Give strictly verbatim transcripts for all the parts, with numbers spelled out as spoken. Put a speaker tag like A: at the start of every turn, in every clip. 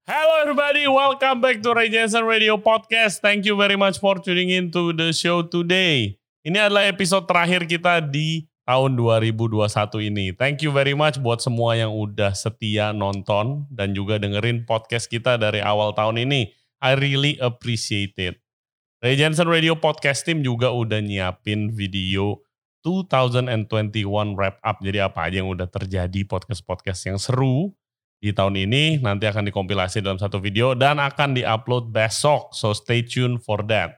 A: Hello everybody, welcome back to Ray Jensen Radio Podcast. Thank you very much for tuning in to the show today. Ini adalah episode terakhir kita di tahun dua ribu dua puluh satu ini. Thank you very much buat semua yang udah setia nonton dan juga dengerin podcast kita dari awal tahun ini. I really appreciate it. Ray Jensen Radio Podcast Team juga udah nyiapin video dua ribu dua puluh satu wrap up. Jadi apa aja yang udah terjadi, podcast-podcast yang seru di tahun ini nanti akan dikompilasi dalam satu video dan akan diupload besok. So stay tuned for that.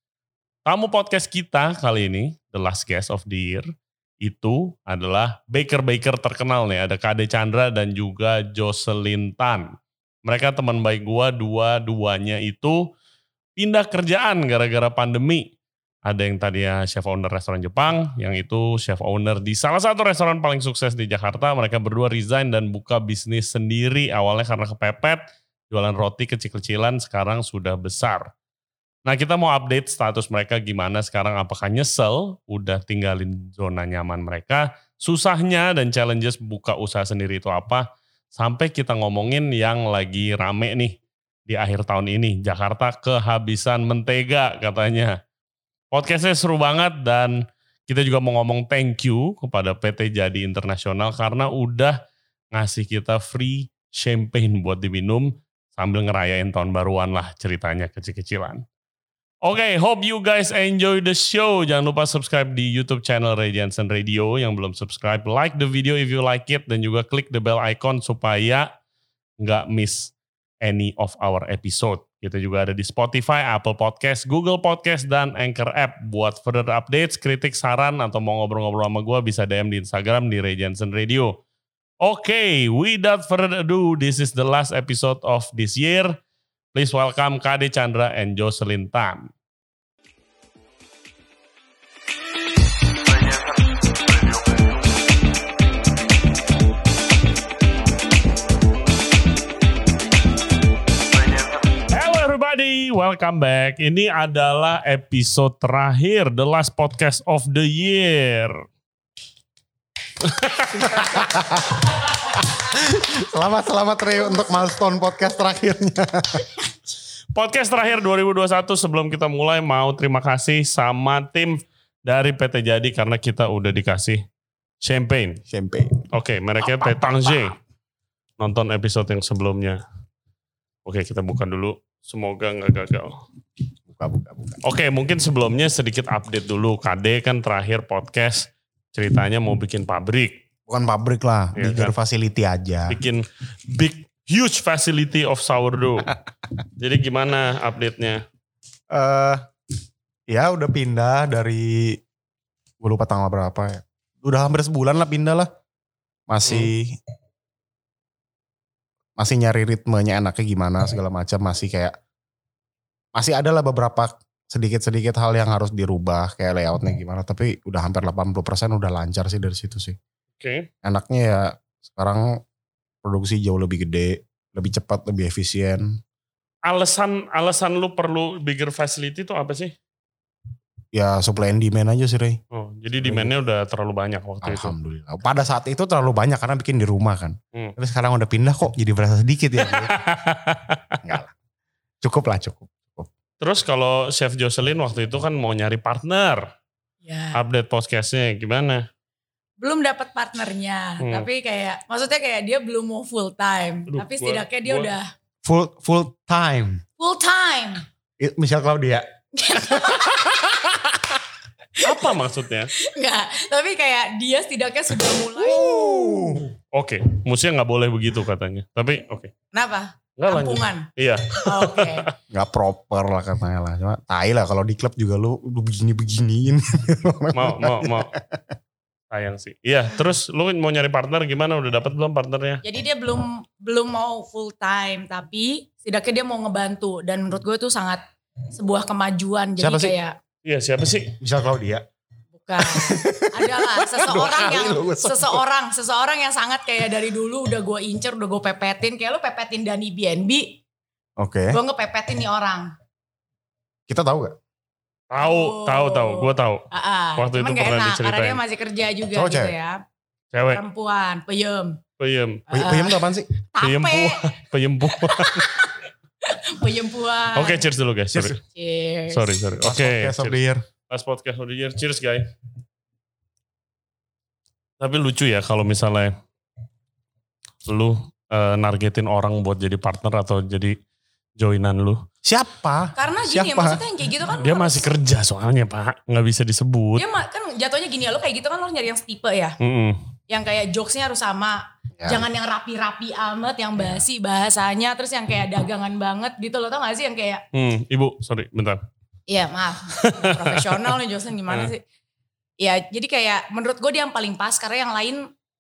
A: Tamu podcast kita kali ini, the last guest of the year, itu adalah baker-baker terkenal nih. Ada Kade Chandra dan juga Jocelyn Tan. Mereka teman baik gua, dua-duanya itu pindah kerjaan gara-gara pandemi. Ada yang tadinya chef owner restoran Jepang, yang itu chef owner di salah satu restoran paling sukses di Jakarta. Mereka berdua resign dan buka bisnis sendiri. Awalnya karena kepepet, jualan roti kecil-kecilan, sekarang sudah besar. Nah, kita mau update status mereka gimana sekarang, apakah nyesel udah tinggalin zona nyaman mereka, susahnya dan challenges buka usaha sendiri itu apa, sampai kita ngomongin yang lagi rame nih di akhir tahun ini. Jakarta kehabisan mentega katanya. Podcastnya seru banget dan kita juga mau ngomong thank you kepada P T Jadi Internasional karena udah ngasih kita free champagne buat diminum sambil ngerayain tahun baruan lah ceritanya kecil-kecilan. Oke, okay, hope you guys enjoy the show. Jangan lupa subscribe di YouTube channel Ray Jensen Radio. Yang belum subscribe, like the video if you like it dan juga klik the bell icon supaya nggak miss any of our episode. Kita juga ada di Spotify, Apple Podcast, Google Podcast, dan Anchor App. Buat further updates, kritik, saran, atau mau ngobrol-ngobrol sama gue bisa D M di Instagram di Ray Jensen Radio. Oke, okay, without further ado, this is the last episode of this year. Please welcome Kade Chandra and Jocelyn Tan. Welcome back. Ini adalah episode terakhir, the last podcast of the year.
B: Selamat selamat Ray untuk milestone podcast terakhirnya.
A: Podcast terakhir dua ribu dua puluh satu. Sebelum kita mulai mau terima kasih sama tim dari P T Jadi karena kita udah dikasih champagne.
B: Champagne.
A: Oke, okay, mereknya Pétange. Nonton episode yang sebelumnya. Oke, okay, kita buka dulu. Semoga nggak gagal.
B: Buka, buka, buka.
A: Oke, mungkin sebelumnya sedikit update dulu. Kade kan terakhir podcast ceritanya mau bikin pabrik.
B: Bukan pabrik lah,
A: ya,
B: bigger
A: kan?
B: Facility aja.
A: Bikin big, huge facility of sourdough. Jadi gimana update-nya?
B: Uh, ya udah pindah dari, gue lupa tanggal berapa ya. Udah hampir sebulan lah pindah lah. Masih... Hmm. Masih nyari ritmenya enaknya gimana segala macam, masih kayak masih ada lah beberapa sedikit-sedikit hal yang harus dirubah kayak layoutnya gimana, tapi udah hampir delapan puluh persen udah lancar sih dari situ sih.
A: Oke. Okay.
B: Enaknya ya sekarang produksi jauh lebih gede, lebih cepat, lebih efisien.
A: Alasan alasan lu perlu bigger facility itu apa sih?
B: Ya supply and demand aja sih Ray.
A: Oh, jadi demand-nya udah terlalu banyak waktu itu.
B: Alhamdulillah. Pada saat itu terlalu banyak karena bikin di rumah kan.
A: Hmm.
B: Tapi sekarang udah pindah kok jadi berasa sedikit ya. Enggak lah. Cukup lah cukup. cukup.
A: Terus kalau Chef Jocelyn waktu itu kan mau nyari partner.
C: Ya.
A: Update podcastnya gimana?
C: Belum dapat partnernya. Hmm. Tapi kayak maksudnya kayak dia belum mau full time. Aduh, tapi setidaknya dia gua, udah.
B: Full full time.
C: Full time.
B: Michelle Claudia.
A: Apa maksudnya?
C: Enggak, tapi kayak dia setidaknya sudah mulai.
B: Uh.
A: Oke, okay. Musiknya gak boleh begitu katanya. Tapi oke. Okay.
C: Kenapa?
A: Enggak
C: Kampungan?
A: Iya.
C: Oh, oke. Okay.
B: Gak proper lah katanya lah. Cuma tai lah kalau di klub juga lu, lu begini-beginiin.
A: mau, mau, mau. Sayang sih. Iya, terus lu mau nyari partner gimana? Udah dapat belum partnernya?
C: Jadi dia belum belum mau full time, tapi setidaknya dia mau ngebantu. Dan menurut gue itu sangat sebuah kemajuan. Jadi
B: siapa
C: kayak...
B: Sih?
A: Iya, siapa sih?
B: Michelle Claudia.
C: Bukan. Adalah seseorang yang seseorang seseorang yang sangat kayak dari dulu udah gue incer, udah gue pepetin. Kayak lu pepetin Dani B and B.
B: Oke. Okay.
C: Gue ngepepetin nih orang.
B: Kita tahu gak?
A: Tahu,
C: oh.
A: tahu, tahu. Gue tahu.
C: Uh-uh.
A: Waktu
C: Cuman
A: itu
C: gak
A: pernah
C: enak,
A: diceritain.
C: karena dia masih kerja juga
B: Cowok
C: gitu
B: cewek?
C: ya.
A: Cewek.
C: Perempuan, peyem.
A: Peyem.
B: Peyem, peyem itu apaan sih?
A: Peyempuan. Peyempuan.
C: Peyempuan.
A: Oke, okay, cheers dulu guys. Sorry.
C: Cheers.
A: Sorry, sorry. Oke. Okay,
B: podcast of the year.
A: Last podcast of the year. Cheers guys. Tapi lucu ya kalau misalnya lu uh, nargetin orang buat jadi partner atau jadi joinan lu.
B: Siapa?
C: Karena gini
B: Siapa?
C: ya, maksudnya yang kayak gitu kan.
A: Dia masih
C: harus,
A: kerja soalnya Pak. Nggak bisa disebut.
C: Dia kan jatuhnya gini ya, lu kayak gitu kan lu harus nyari yang setipe ya.
A: Mm-mm.
C: Yang kayak jokesnya harus sama. Ya. Jangan yang rapi-rapi amat, yang basi bahasanya. Terus yang kayak dagangan banget gitu loh. Tau gak sih yang kayak.
A: Hmm, Ibu sorry bentar.
C: Iya maaf. Profesional nih jokesnya gimana sih. Ya jadi kayak menurut gue dia yang paling pas. Karena yang lain.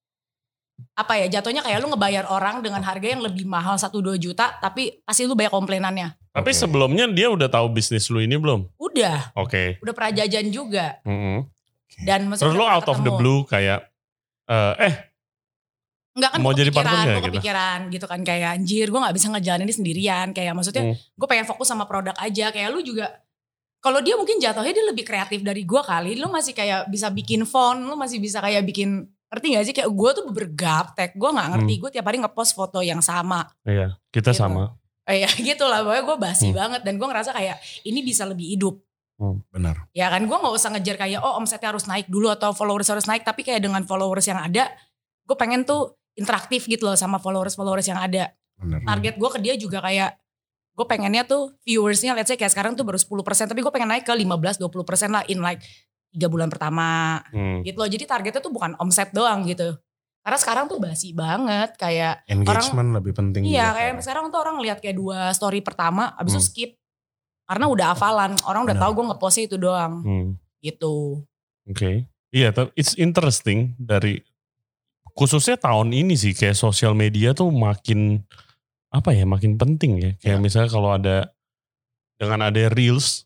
C: Apa ya jatuhnya kayak lu ngebayar orang dengan harga yang lebih mahal satu dua juta. Tapi pasti lu banyak komplainannya.
A: Tapi
B: okay.
A: sebelumnya dia udah tahu bisnis lu ini belum?
C: Udah.
A: Oke. Okay.
C: Udah pernah jajan juga.
A: Mm-hmm.
C: Dan
A: terus lu out of the blue kayak. Uh, eh.
C: Enggak kan
A: mau
C: gue
A: jadi
C: kepikiran,
A: partner
C: gue
A: gitu?
C: kepikiran gitu kan. Kayak anjir gue gak bisa ngejalanin ini sendirian. Kayak maksudnya hmm. gue pengen fokus sama produk aja. Kayak lu juga. Kalau dia mungkin jatuhnya dia lebih kreatif dari gue kali. Lu masih kayak bisa bikin font. Lu masih bisa kayak bikin. Ngerti gak sih? Kayak gue tuh bergaptek. Gue gak ngerti. Hmm. Gue tiap hari ngepost foto yang sama.
A: Iya kita gitu. Sama.
C: Iya gitu lah. Pokoknya gue basi
A: hmm.
C: banget. Dan gue ngerasa kayak ini bisa lebih hidup.
B: Hmm, benar.
C: Ya kan gue gak usah ngejar kayak oh omsetnya harus naik dulu atau followers harus naik. Tapi kayak dengan followers yang ada. Gue pengen tuh interaktif gitu loh sama followers-followers yang ada.
B: Bener.
C: Target gue ke dia juga kayak. Gue pengennya tuh viewersnya let's say kayak sekarang tuh baru sepuluh persen. Tapi gue pengen naik ke lima belas sampai dua puluh persen lah in like tiga bulan pertama. Hmm. Gitu loh. Jadi targetnya tuh bukan omset doang gitu. Karena sekarang tuh basi banget kayak.
B: Engagement
C: orang,
B: lebih penting.
C: Iya kayak sekarang tuh orang lihat kayak dua story pertama. Abis hmm. itu skip. Karena udah hafalan. Orang udah Bener. Tahu gue ngepostnya itu doang. Hmm. Gitu.
A: Oke. Okay. Iya tapi it's interesting dari. Khususnya tahun ini sih kayak sosial media tuh makin. Apa ya makin penting ya. Kayak ya. Misalnya kalau ada. Dengan ada reels.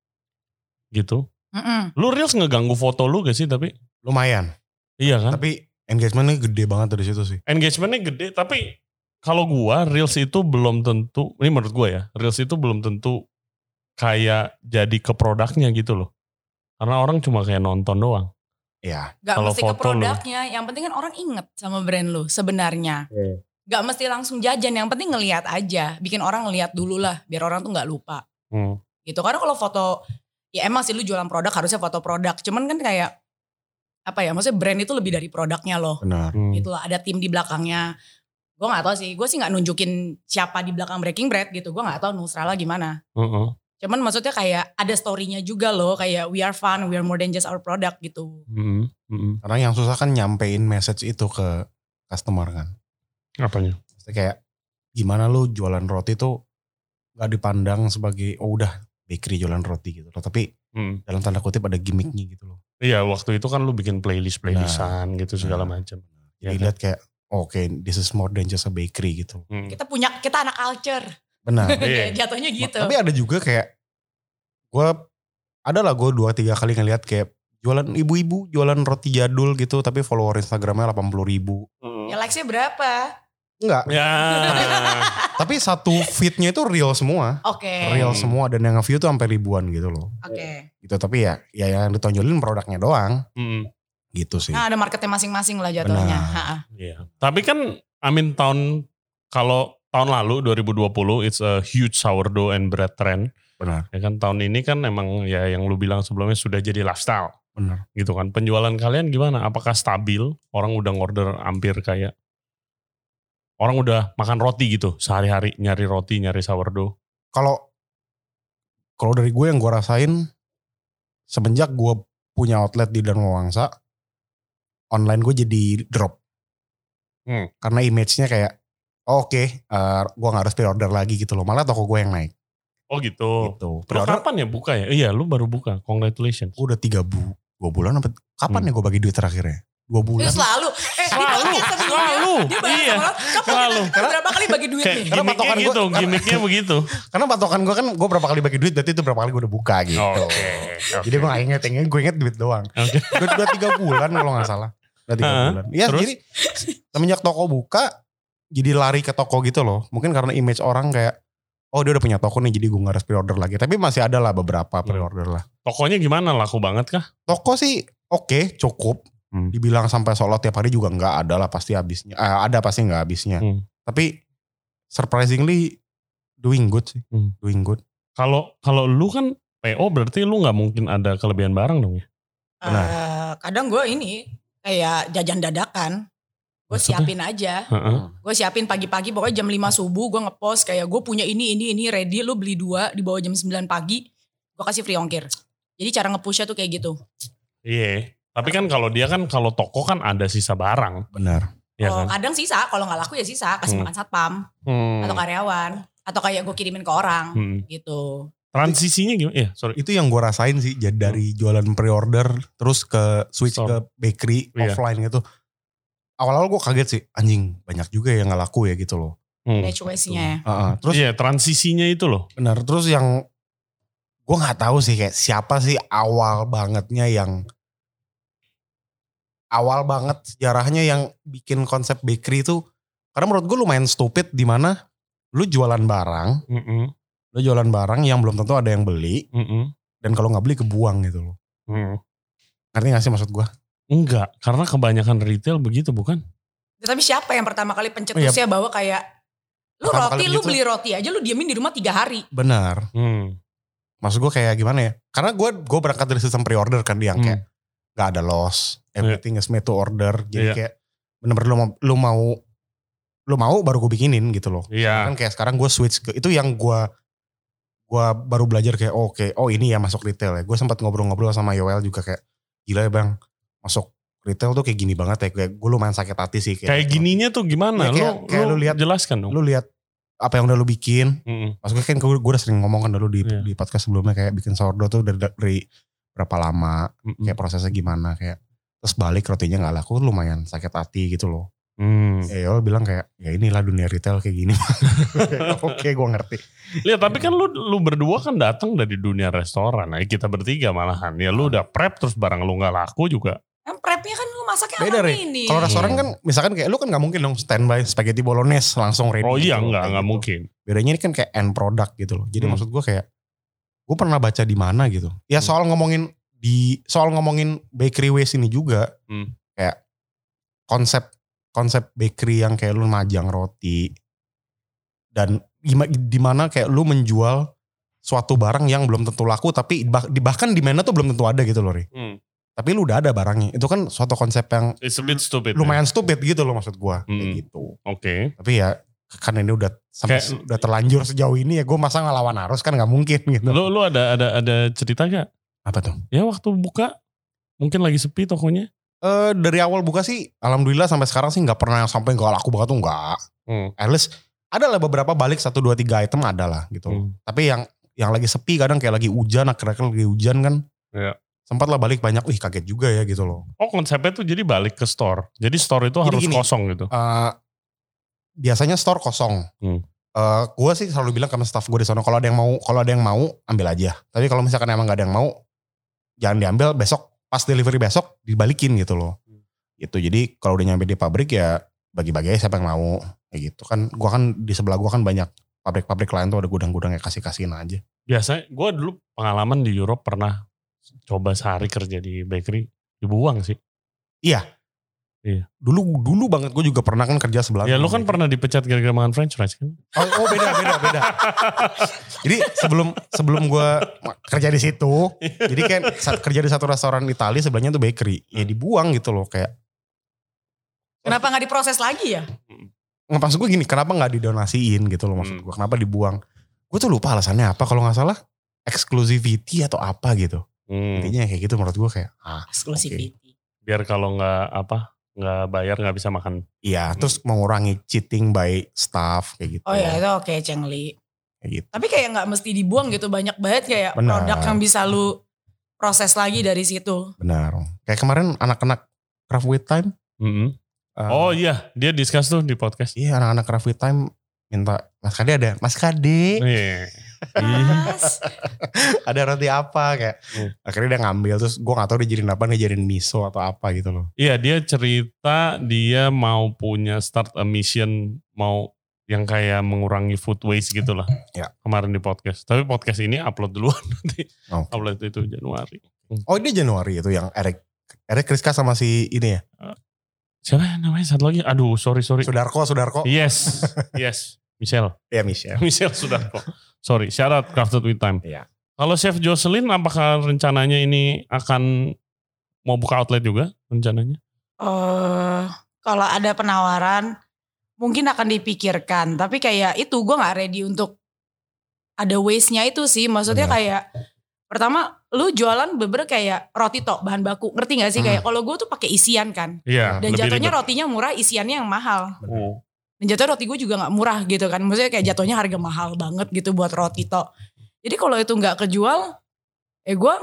A: Gitu. Mm-mm. Lu reels ngeganggu foto lu gak sih tapi?
B: Lumayan.
A: Iya kan?
B: Tapi engagementnya gede banget dari situ sih.
A: Engagementnya gede tapi. Kalau gua reels itu belum tentu. Ini menurut gua ya. Reels itu belum tentu. Kayak jadi ke produknya gitu loh. Karena orang cuma kayak nonton doang.
B: Iya.
C: Gak kalo mesti ke produknya. Lu. Yang penting kan orang inget sama brand lu sebenarnya. Yeah. Gak mesti langsung jajan. Yang penting ngelihat aja. Bikin orang ngelihat dulu lah. Biar orang tuh gak lupa. Hmm. Gitu. Karena kalau foto. Ya emang sih lu jualan produk harusnya foto produk. Cuman kan kayak. Apa ya. Maksudnya brand itu lebih dari produknya loh.
B: Benar.
A: Hmm.
C: Gitu lah. Ada tim di belakangnya. Gue gak tahu sih. Gue sih gak nunjukin siapa di belakang Breaking Bread gitu. Gue gak tahu Nusrala gimana. Uh-uh. Cuman maksudnya kayak ada story-nya juga loh. Kayak we are fun, we are more than just our product gitu.
B: Mm-hmm. Mm-hmm. Karena yang susah kan nyampein message itu ke customer kan.
A: Apanya?
B: Kayak gimana lu jualan roti tuh gak dipandang sebagai oh udah bakery jualan roti gitu loh. Tapi mm. dalam tanda kutip ada gimmicknya gitu loh.
A: Iya waktu itu kan lu bikin playlist-playlistan nah, gitu segala nah. macam.
B: Jadi ya, lihat kayak oke okay, this is more than just a bakery gitu.
C: Mm. Kita punya, kita anak culture.
B: Benar.
C: Jatuhnya gitu.
B: Tapi ada juga kayak gue ada lah gue dua tiga kali ngeliat kayak jualan ibu-ibu jualan roti jadul gitu tapi follower Instagramnya delapan puluh ribu.
C: Hmm. Ya likesnya berapa?
B: Enggak.
A: Ya.
B: tapi, tapi satu feednya itu real semua.
C: Oke. Okay.
B: Real semua dan yang nge-view tuh sampai ribuan gitu loh.
C: Oke. Okay.
B: Gitu tapi ya ya yang ditonjolin produknya doang. Hmm. Gitu sih.
C: Nah ada marketnya masing-masing lah jatuhnya.
A: Iya. Tapi kan amin tahun kalau tahun lalu dua ribu dua puluh it's a huge sourdough and bread trend.
B: Benar.
A: Ya kan tahun ini kan emang ya yang lu bilang sebelumnya sudah jadi lifestyle.
B: Benar.
A: Gitu kan. Penjualan kalian gimana? Apakah stabil? Orang udah ngorder hampir kayak orang udah makan roti gitu sehari-hari nyari roti, nyari sourdough.
B: Kalau kalau dari gue yang gue rasain semenjak gue punya outlet di Dharma Wangsa, online gue jadi drop. Hmm. Karena image-nya kayak oh, oke, okay, uh, gue gak harus pre-order lagi gitu loh. Malah toko gue yang naik.
A: Oh gitu.
B: gitu.
A: Terus kapan ya buka ya? Iya lu baru buka, congratulations.
B: Gue udah tiga bu, dua bulan. Apa, kapan hmm. ya gue bagi duit terakhirnya? Dua bulan.
C: Itu selalu. Eh,
A: selalu. Selalu.
C: Dia iya. Kapan
A: selalu.
C: Karena berapa kali bagi duit nih?
A: Karena patokan gitu, gua, gimmicknya begitu.
B: Karena patokan gue kan gue berapa kali bagi duit, berarti itu berapa kali gue udah buka gitu.
A: Oke. Okay, okay.
B: Jadi gue gak inget, inget gue inget duit doang. Okay. Gue udah tiga bulan kalau gak salah. Udah tiga uh, bulan. Ya jadi semenjak toko buka, jadi lari ke toko gitu loh. Mungkin karena image orang kayak, oh dia udah punya toko nih jadi gue gak harus pre-order lagi. Tapi masih ada lah beberapa pre-order lah.
A: Tokonya gimana, laku banget kah?
B: Toko sih oke, okay, cukup. Hmm. Dibilang sampai sold out tiap hari juga enggak, ada lah pasti habisnya. Eh, ada pasti enggak habisnya. Hmm. Tapi surprisingly doing good sih. Hmm. Doing good.
A: Kalau kalau lu kan P O berarti lu nggak mungkin ada kelebihan barang dong ya?
C: Uh, kadang gue ini kayak jajan dadakan. Gue siapin aja. Uh-uh. Gue siapin pagi-pagi pokoknya jam lima subuh gue ngepost kayak gue punya ini ini ini ready, lu beli dua di bawah jam sembilan pagi. Gue kasih free ongkir. Jadi cara nge-pushnya tuh kayak gitu.
A: Iya. Tapi kan kalau dia kan kalau toko kan ada sisa barang.
B: Benar.
A: Ya
C: oh,
A: kan?
C: Kadang sisa, kalau nggak laku ya sisa, kasih hmm. makan satpam hmm. atau karyawan atau kayak gue kirimin ke orang hmm. gitu.
A: Transisinya gimana? Ya, sorry.
B: Itu yang gue rasain sih, jadi dari hmm. jualan pre-order terus ke switch so, ke bakery iya. offline gitu. Awal-awal gue kaget sih, anjing banyak juga yang nggak laku ya gitu loh.
C: Hmm. Cuesinya.
A: Uh, uh, terus iya transisinya itu loh.
B: Benar. Terus yang gue nggak tahu sih kayak siapa sih awal bangetnya yang awal banget sejarahnya yang bikin konsep bakery itu, karena menurut gue lumayan stupid di mana lu jualan barang, mm-hmm. lu jualan barang yang belum tentu ada yang beli, mm-hmm. dan kalau nggak beli kebuang gitu loh. Mm. Ngerti nggak sih maksud gue?
A: Enggak, karena kebanyakan retail begitu bukan?
C: Ya, tapi siapa yang pertama kali pencetusnya oh, ya. Bahwa kayak lu pertama roti, lu beli roti aja lu diamin di rumah tiga hari.
B: Benar. Hmm. Maksud gue kayak gimana ya? Karena gue gue berangkat dari sistem pre-order kan yang hmm. kayak gak ada loss, everything yeah. is made to order. Jadi yeah. kayak bener-bener lu mau, lu mau lu mau baru gue bikinin gitu loh.
A: Yeah.
B: Kan kayak sekarang gue switch ke itu yang gue gue baru belajar kayak oh, oke okay, oh ini ya masuk retail ya. Gue sempat ngobrol-ngobrol sama Yoel juga kayak gila ya bang, masuk retail tuh kayak gini banget ya. Kayak gue lumayan sakit hati sih.
A: Kayak, kayak gininya tuh gimana?
B: Ya, kayak,
A: lu,
B: kayak
A: lu,
B: lu lihat,
A: jelaskan dong.
B: Lu lihat apa yang udah lu bikin. Mm-hmm. Maksudnya kan gue, gue udah sering ngomong kan dulu di, yeah. di podcast sebelumnya kayak bikin sourdough tuh dari, dari berapa lama, mm-hmm. kayak prosesnya gimana, kayak terus balik rotinya gak laku lumayan sakit hati gitu loh. Hmm. Ya Yoel bilang kayak ya inilah dunia retail kayak gini. Oke gue ngerti.
A: Lihat tapi kan lu lu berdua kan datang dari dunia restoran. Nah kita bertiga malahan. Ya lu udah prep terus barang lu gak laku juga.
C: Kan prepnya kan lu masaknya
B: beda
C: apa
B: ini. Kalau restoran kan misalkan kayak lu kan gak mungkin dong standby spaghetti bolognese langsung ready.
A: Oh iya
B: gitu,
A: enggak, enggak
B: gitu.
A: mungkin.
B: Bedanya ini kan kayak end product gitu loh. Jadi hmm. maksud gue kayak gue pernah baca di mana gitu. Ya soal ngomongin di soal ngomongin bakery waste ini juga hmm. kayak konsep konsep bakery yang kayak lu majang roti dan di mana kayak lu menjual suatu barang yang belum tentu laku tapi bahkan di mana tuh belum tentu ada gitu loh Ri. Hmm. Tapi lu udah ada barangnya. Itu kan suatu konsep yang
A: It's a bit stupid,
B: lumayan
A: ya?
B: stupid gitu loh maksud gua. Hmm. Kayak gitu.
A: Oke. Okay.
B: Tapi ya kan ini udah sampai kayak, udah terlanjur sejauh ini ya gue masa ngelawan arus kan gak mungkin gitu.
A: Lu, lu ada ada ada cerita gak?
B: Apa tuh?
A: Ya waktu buka mungkin lagi sepi tokonya.
B: Uh, dari awal buka sih alhamdulillah sampai sekarang sih gak pernah sampai gak laku banget tuh enggak. Hmm. At least ada lah beberapa balik satu dua tiga item ada lah gitu. Hmm. Tapi yang yang lagi sepi kadang kayak lagi hujan akhir-akhir lagi hujan kan.
A: Iya.
B: Sempat lah balik banyak, wih kaget juga ya gitu loh.
A: Oh konsepnya tuh jadi balik ke store. Jadi store itu jadi harus gini, kosong gitu.
B: Uh, biasanya store kosong. Hmm. Uh, gue sih selalu bilang sama staff gue di sana kalau ada yang mau, kalau ada yang mau ambil aja. Tapi kalau misalkan emang gak ada yang mau, jangan diambil besok pas delivery besok dibalikin gitu loh. Hmm. Gitu. Jadi kalau udah nyampe di pabrik ya bagi-bagi aja siapa yang mau. Kayak gitu kan. Gue kan di sebelah gue kan banyak pabrik-pabrik lain tuh ada gudang-gudang yang kasih-kasihin aja.
A: Biasanya gue dulu pengalaman di Europe pernah coba sehari kerja di bakery dibuang sih.
B: Iya.
A: Iya.
B: Dulu dulu banget gue juga pernah kan kerja sebelah.
A: Ya lu kan pernah dipecat gara-gara makan french fries kan?
B: Oh, oh beda beda beda. Jadi sebelum sebelum gue kerja di situ, jadi kan kerja di satu restoran Italia sebelahnya tuh bakery. Ya dibuang gitu loh kayak.
C: Kenapa nggak diproses lagi ya?
B: Nggak maksud gue gini, kenapa nggak didonasiin gitu loh maksud gue? Kenapa dibuang? Gue tuh lupa alasannya apa kalau nggak salah exclusivity atau apa gitu. Hmm. Intinya kayak gitu menurut gue kayak ah,
C: exclusivity.
A: Okay. Biar kalau nggak apa nggak bayar nggak bisa makan.
B: Iya, hmm. terus mengurangi cheating by staff kayak gitu.
C: Oh ya itu oke okay, Cengli.
B: Kayak gitu.
C: Tapi kayak nggak mesti dibuang gitu, banyak banget kayak
B: Benar.
C: Produk yang bisa lu proses lagi dari situ.
B: Benar. Kayak kemarin anak-anak Craft with Time.
A: Mm-hmm. Uh, oh iya, dia discuss tuh di podcast.
B: Iya, anak-anak Craft with Time minta Mas Kade ada, Mas Kade.
A: Yeah.
C: Mas.
B: Ada roti apa kayak. Hmm. Akhirnya dia ngambil terus gue gak tahu dia jadiin apa, dia jadiin miso atau apa gitu loh.
A: Iya, dia cerita dia mau punya start a mission, mau yang kayak mengurangi food waste gitu lah.
B: Ya.
A: Kemarin di podcast. Tapi podcast ini upload duluan nanti. Okay. Upload itu Januari.
B: Oh, dia Januari itu yang Eric Eric Kriska sama si ini ya.
A: Siapa namanya satu lagi? Aduh, sorry sorry.
B: Sudarko, Sudarko.
A: Yes, yes. Michelle.
B: Iya Michelle.
A: Michelle Sudarko. Sorry, shout out Crafted with Time.
B: Iya.
A: Kalau Chef Jocelyn, apakah rencananya ini akan mau buka outlet juga rencananya?
C: Uh, kalau ada penawaran mungkin akan dipikirkan. Tapi kayak itu gue gak ready untuk ada waste-nya itu sih. Maksudnya
B: Benar.
C: kayak pertama lu jualan beber kayak roti tok bahan baku. Ngerti gak sih?
B: Hmm.
C: Kayak kalau gue tuh pakai isian kan.
A: Iya.
C: Dan
A: lebih
C: jatuhnya
A: ribet.
C: rotinya murah, isiannya yang mahal.
A: Oh.
C: Dan jatuhnya roti gue juga gak murah gitu kan. Maksudnya kayak jatuhnya harga mahal banget gitu buat roti tok. Jadi kalau itu gak kejual, eh gue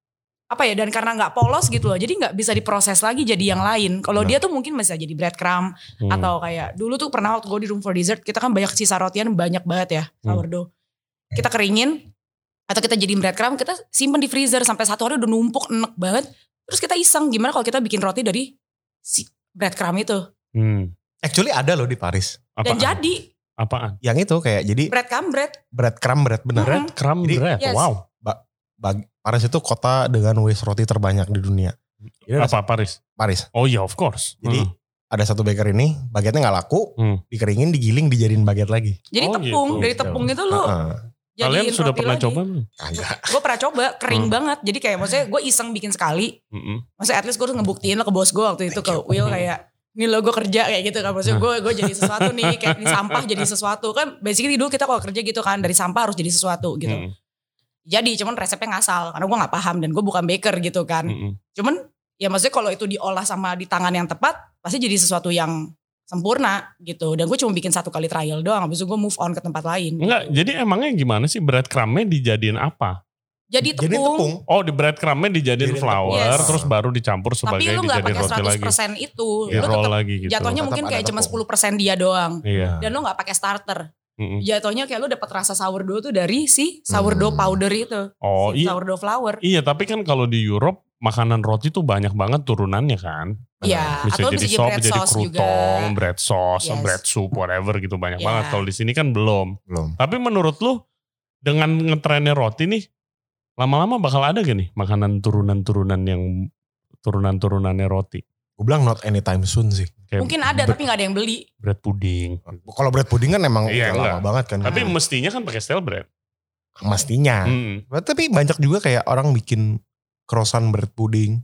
C: apa ya, dan karena gak polos gitu loh. Jadi gak bisa diproses lagi jadi yang lain. Kalau dia tuh mungkin bisa jadi breadcrumb.
A: Hmm.
C: Atau kayak dulu tuh pernah waktu gue di Room for Dessert, kita kan banyak sisa rotian banyak banget ya, sourdough. Kita keringin, atau kita jadiin breadcrumb, kita simpen di freezer sampai satu hari udah numpuk enek banget. Terus kita iseng gimana kalau kita bikin roti dari si breadcrumb itu.
A: Hmm.
B: Actually ada loh di Paris.
C: Dan
A: Apaan?
C: jadi
A: Apaan?
B: Yang itu kayak jadi
C: breadcrumb bread.
B: breadcrumb bread bener.
C: Mm-hmm.
A: Crumb
B: Jadi-
A: bread.
C: Yes.
A: Wow.
B: Bag- Paris itu kota dengan waste roti terbanyak di dunia. Jadi ada
A: Apa Paris?
B: Paris.
A: Oh iya, of course.
B: Jadi
A: Hmm.
B: ada satu baker ini, bagetnya nggak laku,
A: Hmm.
B: dikeringin, digiling, dijadiin baget lagi.
C: Jadi
A: Oh,
C: tepung,
A: gitu.
C: dari tepung itu lu
B: Heeh.
A: Kalian
C: jadiin
A: sudah
C: roti
A: pernah
C: lagi.
A: coba belum?
B: Agak.
C: Gue pernah coba, kering
A: Hmm.
C: banget. Jadi kayak maksudnya gue iseng bikin sekali.
A: Mm-mm.
C: Maksudnya at least gue harus ngebuktiin lah ke bos gue waktu itu, ke Will kayak, ini lo gue kerja kayak gitu kan. Maksudnya gue gue jadi sesuatu nih, kayak ini sampah jadi sesuatu. Kan basically dulu kita kalau kerja gitu kan, dari sampah harus jadi sesuatu gitu.
A: Mm-mm.
C: Jadi cuman resepnya ngasal, karena gue gak paham dan gue bukan baker gitu kan.
A: Mm-mm.
C: Cuman ya maksudnya kalau itu diolah sama di tangan yang tepat, pasti jadi sesuatu yang sempurna gitu. Dan gue cuma bikin satu kali trial doang, habis itu gue move on ke tempat lain.
A: Enggak, jadi emangnya gimana sih breadcrumbnya dijadiin apa?
C: Jadi
B: Jadi
C: tepung.
B: tepung.
A: Oh, di breadcrumbnya dijadiin
B: Jadiin
A: flour,
C: tepung. Yes.
A: terus baru dicampur
C: Tapi
A: sebagai
C: lu gak
A: dijadiin
C: pakai
A: roti
C: seratus
A: lagi.
C: persen itu.
A: Di
C: Lu
A: roll
C: tetap
A: lagi gitu.
C: jatuhnya
B: Tetap
C: mungkin
B: ada
C: kayak cuma
B: tepung.
C: sepuluh persen dia doang.
A: Iya.
C: Dan lu gak pakai starter.
A: Mm-mm.
C: Jatuhnya kayak lu dapat rasa sourdough tuh dari si sourdough
B: Hmm.
C: powder itu.
A: Oh
C: Si
A: iya,
C: sourdough flour.
A: iya tapi kan kalau di Europe makanan roti tuh banyak banget turunannya kan.
C: Iya,
A: Bisa
C: atau
A: jadi
C: bisa jadi
A: sop,
C: bread
A: jadi
C: sauce juga.
A: krutong, bread sauce,
C: Yes.
A: bread soup, whatever gitu banyak
C: Iya.
A: banget. Kalau di sini kan belum.
B: Belum.
A: Tapi menurut lu dengan ngetrennya roti nih, lama-lama bakal ada gak nih makanan turunan-turunan yang turunan-turunannya roti?
B: Gue bilang not anytime soon sih.
A: Kayak
C: Mungkin ada
A: bre-
C: tapi gak ada yang beli.
A: bread pudding.
B: Kalau bread pudding kan emang
A: Iya,
B: udah
A: enggak.
B: lama banget kan.
A: Tapi mestinya kan pakai stale bread.
B: Mestinya.
A: Mm.
B: Tapi banyak juga kayak orang bikin croissant bread pudding.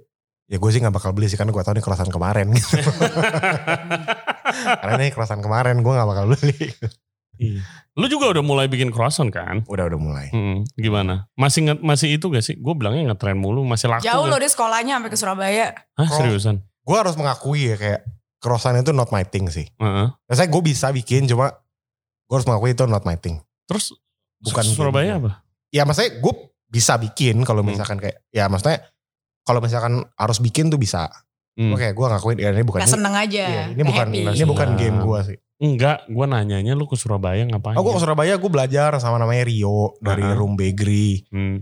B: Ya gue sih gak bakal beli sih karena gue tau ini croissant kemarin gitu. Karena ini croissant kemarin gue gak bakal beli.
A: Iya. Lu juga udah mulai bikin croissant kan?
B: Udah udah mulai.
A: Mm. Gimana? Masih nge- masih itu gak sih? Gue bilangnya ngetren mulu, masih laku.
C: Jauh
A: gak?
C: loh dia sekolahnya sampai ke Surabaya.
A: Hah,
B: Kalau-
A: seriusan?
B: Gue harus mengakui ya kayak croissant itu not my thing sih.
A: Heeh.
B: Biasanya gue bisa bikin cuma gue harus mengakui itu not my thing.
A: Terus
B: Bukan
A: Surabaya
B: game.
A: apa?
B: Ya maksudnya gue bisa bikin kalau
A: Hmm.
B: misalkan kayak ya maksudnya kalau misalkan harus bikin tuh bisa.
A: Hmm.
B: Oke, gue ngakuin ya ini bukan
C: Gak seneng aja.
B: iya, ini
C: gak
B: bukan
C: happy.
B: ini bukan
A: Senang.
B: game gue sih.
A: Enggak, gue nanyanya lu ke Surabaya ngapain?
B: Oh gue ke Surabaya gue belajar sama namanya Rio dari
A: Uh-huh.
B: Room Bakery.
A: Hmm,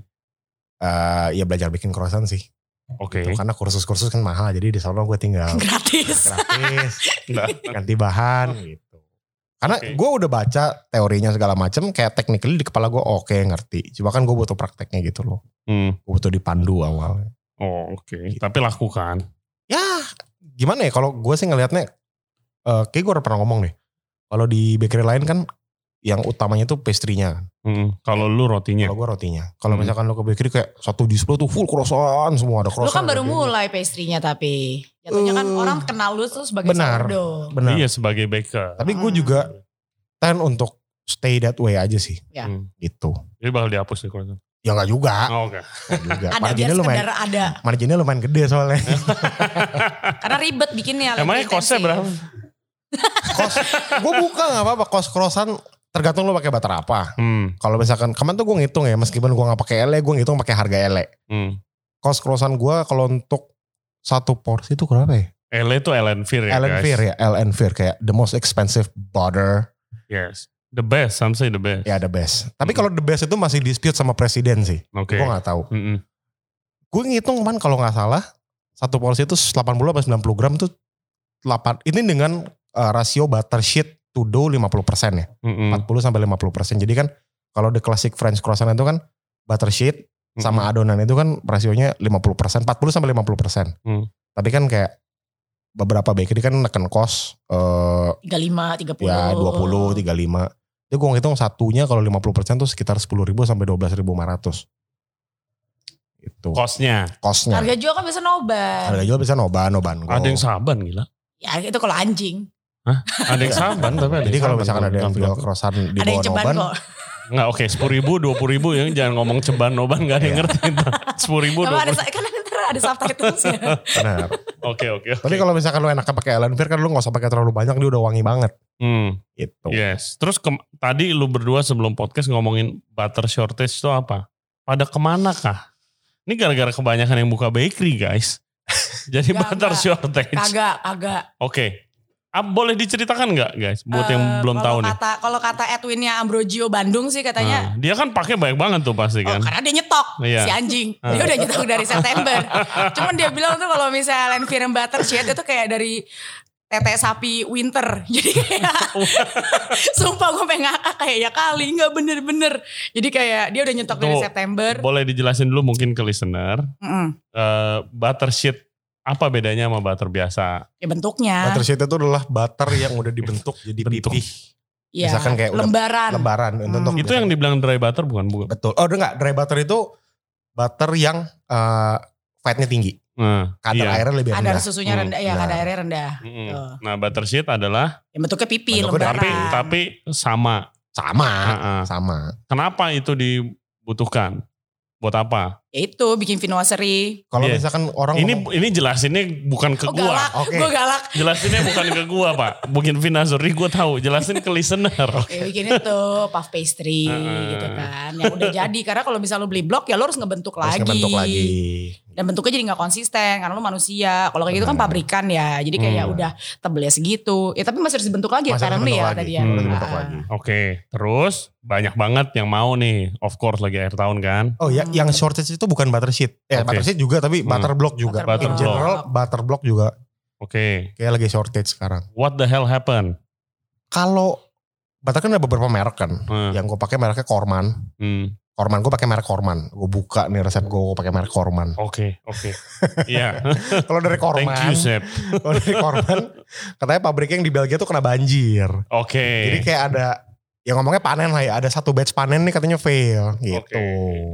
B: Eh ya belajar bikin croissant sih.
A: Oke.
B: Gitu. Karena kursus-kursus kan mahal jadi di sana gue tinggal
C: Gratis.
B: gratis
A: Enggak.
B: ganti bahan gitu. Karena
A: Oke.
B: gue udah baca teorinya segala macam kayak technically di kepala gue oke ngerti. Cuma kan gue butuh prakteknya gitu loh.
A: Hmm.
B: Gue butuh dipandu awalnya.
A: Oh oke. Tapi laku kan?
B: Ya gimana ya kalau gue sih ngelihatnya eh kayak gue udah pernah ngomong deh. Kalau di bakery lain kan yang utamanya tuh pastry-nya kan.
A: Hmm. Kalau lu rotinya?
B: Kalau gue rotinya. Kalau
A: Hmm.
B: misalkan lo ke bakery kayak satu display tuh full croissant semua ada
C: Lu
B: croissant.
C: kan baru
B: ada
C: mulai pastry-nya tapi. Jatuhnya kan
B: Eh,
C: orang kenal lu tuh sebagai
B: benar.
C: sourdough.
B: Benar.
A: Iya sebagai baker.
B: Tapi gue
C: Hmm.
B: juga tend untuk stay that way aja sih.
C: Ya.
A: Hmm.
B: Gitu.
A: Jadi bakal dihapus deh croissant.
B: Ya gak juga.
A: Oh, oke.
B: Nggak juga.
C: Ada biar
B: Marginnya lumayan,
C: sekedar ada.
B: marginnya lumayan gede soalnya.
C: Karena ribet bikinnya.
A: Emangnya
C: lebih
A: kosnya
C: intensif.
A: berapa?
B: Kos, gue buka gak apa-apa. Kos croissant tergantung lo pakai butter apa.
A: Hmm.
B: Kalau misalkan kemarin tuh gue ngitung ya, meskipun gue gak pakai ele, gue ngitung pakai harga ele.
A: Hmm.
B: Kos croissant gue kalau untuk satu porsi itu berapa ya?
A: L itu Ellenvir ya
B: Ellen
A: guys.
B: Fear ya, Ellen Fear kayak the most expensive butter.
A: Yes. The best, some say the best.
B: Ya the best. Tapi
A: Mm.
B: kalau the best itu masih dispute sama presiden sih.
A: Oke.
B: Gue gak tahu.
A: Mm-mm.
B: Gue ngitung kan kalau gak salah, satu porsi itu delapan puluh sampai sembilan puluh gram tuh delapan. Ini dengan uh, rasio butter sheet to dough lima puluh persen ya.
A: Mm-mm.
B: empat puluh sampai lima puluh persen. Jadi kan kalau the classic French croissant itu kan butter sheet, sama adonan itu kan rasionya lima puluh persen, empat puluh sampai lima puluh persen.
A: Hmm.
B: Tapi kan kayak beberapa bakery kan neken cost uh,
C: tiga puluh lima, tiga puluh.
B: ya dua puluh, tiga puluh lima. Jadi gue ngitung satunya kalau lima puluh persen tuh sekitar sepuluh ribu sampai dua belas ribu lima ratus. Itu.
A: Kosnya.
B: Kosnya.
C: Harga jual kan bisa noban.
B: Harga jual bisa noban, noban.
A: Ada yang saban gila.
C: Ya itu kalau anjing.
A: Hah? Ada yang saban tapi ada.
B: Jadi kalau misalkan ada yang
A: jual
B: jual crossan di
C: ada yang
B: bawah
C: ceban
B: noban.
C: kok.
A: Enggak oke okay, sepuluh ribu, dua puluh ribu ya jangan ngomong ceban noban gak ada yang ngerti. sepuluh ribu, dua puluh ribu.
C: Kan ada, ada subtitlesnya.
B: Benar.
A: Oke oke.
B: Tapi kalau misalkan lu enaknya pakai Elanfear kan lu gak usah pakai terlalu banyak, dia udah wangi banget.
A: Hmm.
B: Gitu.
A: Yes. Terus ke, tadi lu berdua sebelum podcast ngomongin butter shortage itu apa? Pada kemana kah? Ini gara-gara kebanyakan yang buka bakery guys. Jadi
C: Gak,
A: butter
C: gak.
A: shortage.
C: Kagak, kagak.
A: Oke. Okay. Ah, boleh diceritakan nggak guys? Buat uh, yang belum tahu nih.
C: Kata, kalau kata Edwinnya Ambrogio Bandung sih katanya.
A: Nah, dia kan pakai banyak banget tuh pasti kan.
C: Oh, karena dia nyetok
A: iya.
C: si anjing. Dia udah nyetok dari September. Cuman dia bilang tuh kalau misalnya Elanfear butter sheet itu kayak dari tete sapi winter. Jadi kayak sumpah gue pengen ngakak kayak ya kali nggak bener-bener. Jadi kayak dia udah nyetok
A: tuh,
C: dari September.
A: Boleh dijelasin dulu mungkin ke listener.
C: Mm -mm.
A: Uh, butter sheet apa bedanya sama butter biasa?
C: Ya bentuknya.
B: Butter sheet itu adalah butter yang udah dibentuk jadi
A: Bentuk.
B: pipih.
C: Ya,
B: Misalkan kayak
C: lembaran.
B: Lembaran.
C: Hmm.
B: Untuk
A: Itu yang dibilang dry butter bukan? bukan.
B: Betul. Oh udah enggak, dry butter itu butter yang uh, fatnya tinggi.
A: Nah,
B: Kadar
A: iya.
B: airnya lebih rendah.
C: Kadar susunya rendah,
B: Hmm,
C: ya
B: nah.
C: kadar airnya rendah.
A: Mm-mm.
C: Tuh.
A: Nah butter sheet adalah
C: Ya bentuknya pipi,
B: Bentuknya
C: lembaran.
A: tapi tapi sama.
B: Sama.
A: Uh-uh.
B: Sama.
A: Kenapa itu dibutuhkan? Buat apa?
C: Ya itu bikin finwaseri.
B: Kalau
A: Iya.
B: misalkan orang
A: Ini
B: ngomong,
A: ini jelasinnya bukan ke
C: Oh
A: gua.
C: galak,
B: Oke.
C: gue galak.
A: Jelasinnya bukan ke gua pak. Mungkin finasuri gua tahu. Jelasin ke listener.
C: Ya bikin itu puff pastry
A: Uh-uh.
C: gitu kan. Yang udah jadi. Karena kalau misalnya lu beli blok ya lu harus ngebentuk
B: harus
C: lagi.
B: ngebentuk lagi.
C: Dan bentuknya jadi gak konsisten karena lu manusia. Kalau kayak gitu kan
B: Benar.
C: pabrikan ya. Jadi kayak ya
A: Hmm.
C: udah tebelnya segitu. Ya tapi masih harus dibentuk lagi
B: Masih harus
C: apparently
B: dibentuk
C: ya
B: lagi.
C: tadi ya.
A: Hmm.
B: Harus dibentuk
C: Ah.
B: lagi.
A: Oke. Terus banyak banget yang mau nih. Of course lagi akhir tahun kan.
B: Oh ya,
C: Hmm.
B: yang shortage itu bukan butter sheet. Eh,
A: Oke.
B: butter sheet juga tapi
A: Hmm.
B: butter block juga.
C: Butter
B: In
A: block.
B: general butter block juga
A: Oke.
B: kayak lagi shortage sekarang.
A: What the hell happened?
B: Kalau butter kan ada beberapa merek kan.
A: Hmm.
B: Yang gue pakai mereknya Korman.
A: Hmm.
B: Korman gue pakai merek Korman. Gue buka nih resep gue, gue pakai merek Korman.
A: Oke. Oke. Iya.
B: Kalau dari Korman,
A: Thank you Sep.
B: kalau dari Korman, katanya pabriknya yang di Belgia tuh kena banjir.
A: Oke.
B: Jadi kayak ada, yang ngomongnya panen lah ya. Ada satu batch panen nih katanya fail gitu.
A: Oke.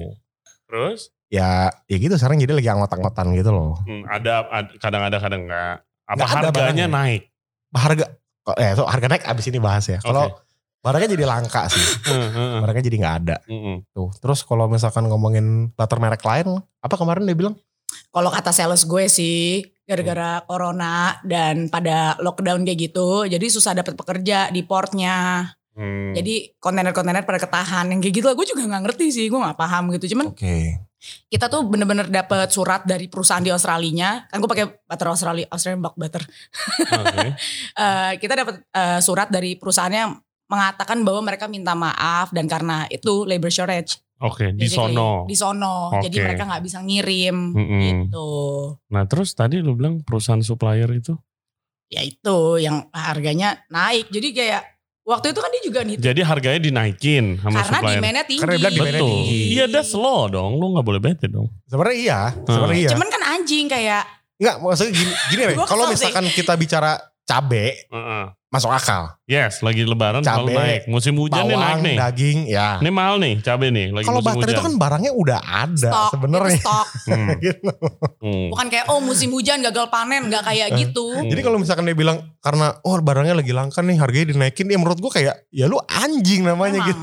A: Terus?
B: Ya, ya gitu sekarang jadi lagi anggot-anggotan gitu loh.
A: Hmm, ada, ad- kadang ada kadang enggak. Apa
B: Nggak ada
A: harganya
B: barangnya.
A: naik?
B: Harga, eh so harga naik abis ini bahas ya. Kalau
A: Oke.
B: barangnya jadi langka sih.
A: Heeh, heeh.
B: Barangnya jadi gak ada.
A: Heeh.
B: Tuh. Terus kalau misalkan ngomongin butter merek lain, apa kemarin dia bilang?
C: Kalau kata sales gue sih gara-gara corona dan pada lockdown kayak gitu. Jadi susah dapat pekerja di portnya.
A: Hmm.
C: Jadi kontainer-kontainer pada ketahan. Yang kayak gitu lah gue juga gak ngerti sih. Gue gak paham gitu. Cuman
B: Oke.
C: kita tuh bener-bener dapet surat dari perusahaan di Australia. Kan gue pakai butter Australia, Australian bulk butter.
A: Oke.
C: Eh, kita dapat eh, surat dari perusahaannya mengatakan bahwa mereka minta maaf dan karena itu labor shortage.
A: Oke, di
C: Basically,
A: sono.
C: Di sono. Jadi
A: Oke.
C: mereka nggak bisa ngirim
A: Mm-mm.
C: gitu.
A: Nah, terus tadi lu bilang perusahaan supplier itu?
C: Ya itu yang harganya naik. Jadi kayak waktu itu kan dia juga nih.
A: Jadi harganya dinaikin sama
C: Karena
A: supplier.
C: demand-nya tinggi.
B: Karena dia bilang demand-nya
A: Betul.
B: tinggi.
A: Iya, that's law dong. Lu gak boleh bete dong.
B: Sebenarnya iya. Sebenarnya iya.
C: Cuman kan anjing kayak
B: Enggak, maksudnya gini, gini deh.
C: Gua
B: Kalau
C: kesel sih.
B: misalkan kita bicara cabe,
A: Heeh.
B: masuk akal.
A: Yes, lagi lebaran selalu
B: Cabe,
A: naik. Musim hujan nih naik
B: Bawang,
A: nih.
B: daging, ya.
A: Ini mahal nih cabe nih. Lagi
B: Kalau
A: musim
B: butter
A: hujan.
B: itu kan barangnya udah ada
C: stok.
B: sebenarnya.
C: Itu stok.
A: Hmm.
B: Gitu.
A: Hmm.
C: Bukan kayak oh musim hujan gagal panen. Gak kayak gitu.
A: Hmm.
B: Jadi kalau misalkan dia bilang karena oh barangnya lagi langka nih harganya dinaikin, ya menurut gue kayak ya lu anjing namanya
C: Emang.
B: gitu.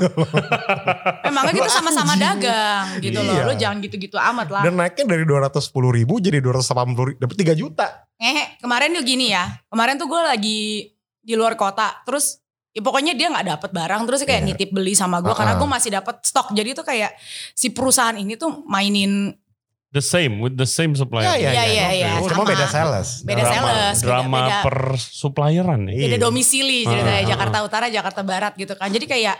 C: Emangnya kita sama-sama
B: Anjing.
C: dagang gitu loh.
B: Iya.
C: Lu jangan gitu-gitu amat lah.
B: Dan naiknya dari dua ratus sepuluh ribu jadi dua ratus delapan puluh ribu, dapat tiga juta.
C: Eh kemarin tuh gini ya. Kemarin tuh gue lagi di luar kota. Terus ya pokoknya dia gak dapet barang. Terus kayak
B: Iya.
C: nitip beli sama gue.
B: Uh-uh.
C: Karena gue masih dapet stok. Jadi tuh kayak si perusahaan ini tuh mainin.
A: The same, with the same supplier.
B: Ya, ya,
C: Iya,
B: ya.
C: iya, iya,
B: Cuma
C: sama.
B: beda sales.
C: Beda
A: drama,
C: sales, beda-
A: Drama
C: beda-
A: per supplieran nih.
B: Iya.
C: Beda domisili. Jadi
A: Uh-uh.
C: kayak Jakarta Utara, Jakarta Barat gitu kan. Jadi kayak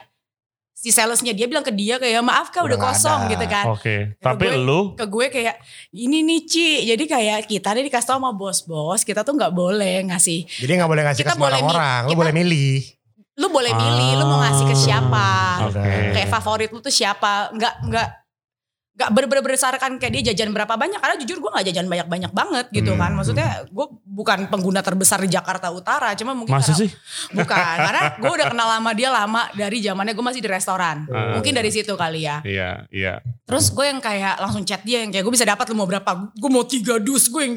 C: si salesnya dia bilang ke dia kayak maaf kak udah
B: Udah nggak
C: kosong
B: ada.
C: gitu kan.
A: Oke,
C: Ke
A: tapi
C: gue-
A: lu
C: Ke gue kayak ini nih Ci. Jadi kayak kita nih dikasih tau sama bos-bos. Kita tuh gak boleh ngasih.
B: Jadi gak boleh ngasih
C: Kita
B: ke sembarang
C: boleh mi-
B: orang, lu
C: kita-
B: boleh milih.
C: Lu boleh milih lu mau ngasih ke siapa.
A: Oke.
C: Kayak favorit lu tuh siapa. Nggak, nggak, gak bener-bener berdasarkan kayak dia jajan berapa banyak. Karena jujur gue gak jajan banyak-banyak banget gitu hmm. kan. Maksudnya gue bukan pengguna terbesar di Jakarta Utara. Cuma mungkin
A: Masa
C: karena,
A: sih?
C: Bukan. Karena gue udah kenal sama dia lama dari zamannya gue masih di restoran. Hmm. Mungkin dari situ kali ya.
A: Iya, iya.
C: Terus gue yang kayak langsung chat dia yang kayak gue bisa dapat lu mau berapa? Gue mau tiga dus. Gue yang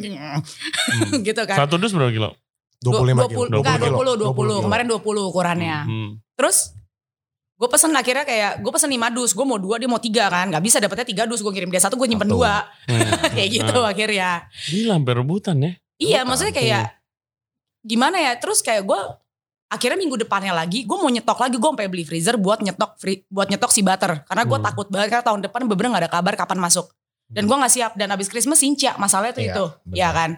C: hmm. gitu kan.
A: Satu dus berapa kilo?
B: dua puluh lima kilo.
C: dua puluh, dua puluh, dua puluh. Kemarin dua puluh ukurannya. Hmm. Terus gue pesen akhirnya kayak gue pesen lima dus, gue mau dua dia mau tiga kan, nggak bisa dapetnya tiga dus, gue kirim dia satu gue nyimpen Atau. dua, hmm. kayak gitu nah. akhirnya.
A: Gila sampai rebutan ya?
C: Iya maksudnya kayak gimana ya, terus kayak gue akhirnya minggu depannya lagi gue mau nyetok lagi, gue sampai beli freezer buat nyetok free, buat nyetok si butter, karena gue hmm. takut banget karena tahun depan bener-bener nggak ada kabar kapan masuk, dan gue nggak siap dan abis Christmas sincia masalahnya tuh iya, itu, bener. ya kan.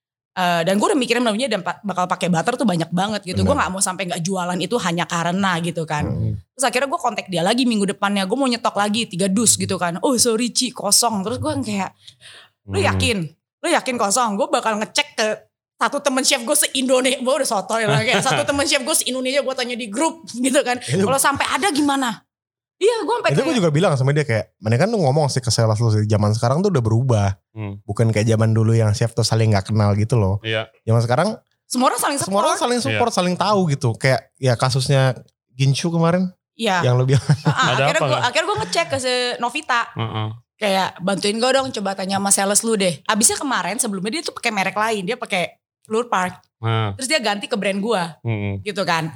C: Uh, dan gue udah mikirin namanya dan bakal pakai butter tuh banyak banget gitu. Gue nggak mau sampai nggak jualan itu hanya karena gitu kan. Hmm. Terus akhirnya gue kontak dia lagi minggu depannya. Gue mau nyetok lagi tiga dus gitu kan. Oh sorry Ci kosong. Terus gue kayak, lu yakin? Lu yakin kosong? Gue bakal ngecek ke satu temen chef gue se-Indonesia. Gue udah sotoy lah kayak satu temen chef gue se-Indonesia gue tanya di grup gitu kan. Kalau sampai ada gimana? Iya gue sampai
B: itu gue juga bilang sama dia kayak, mana kan lu ngomong sih ke sales lu zaman sekarang tuh udah berubah. Hmm. Bukan kayak zaman dulu yang chef tuh saling gak kenal gitu loh.
A: Iya.
B: Zaman sekarang
C: semua orang saling support.
B: Semua orang saling support, iya. saling tahu gitu. Kayak ya kasusnya Ginchu kemarin.
C: Iya.
B: Yang lu bilang.
C: Uh-uh, akhirnya gue akhirnya gue ngecek ke si Novita. Uh-uh. Kayak bantuin gue dong, coba tanya sama sales lu deh. Abisnya kemarin sebelumnya dia tuh pakai merek lain, dia pakai Lure Park. Uh. Terus dia ganti ke brand gue. Uh-uh. Gitu kan.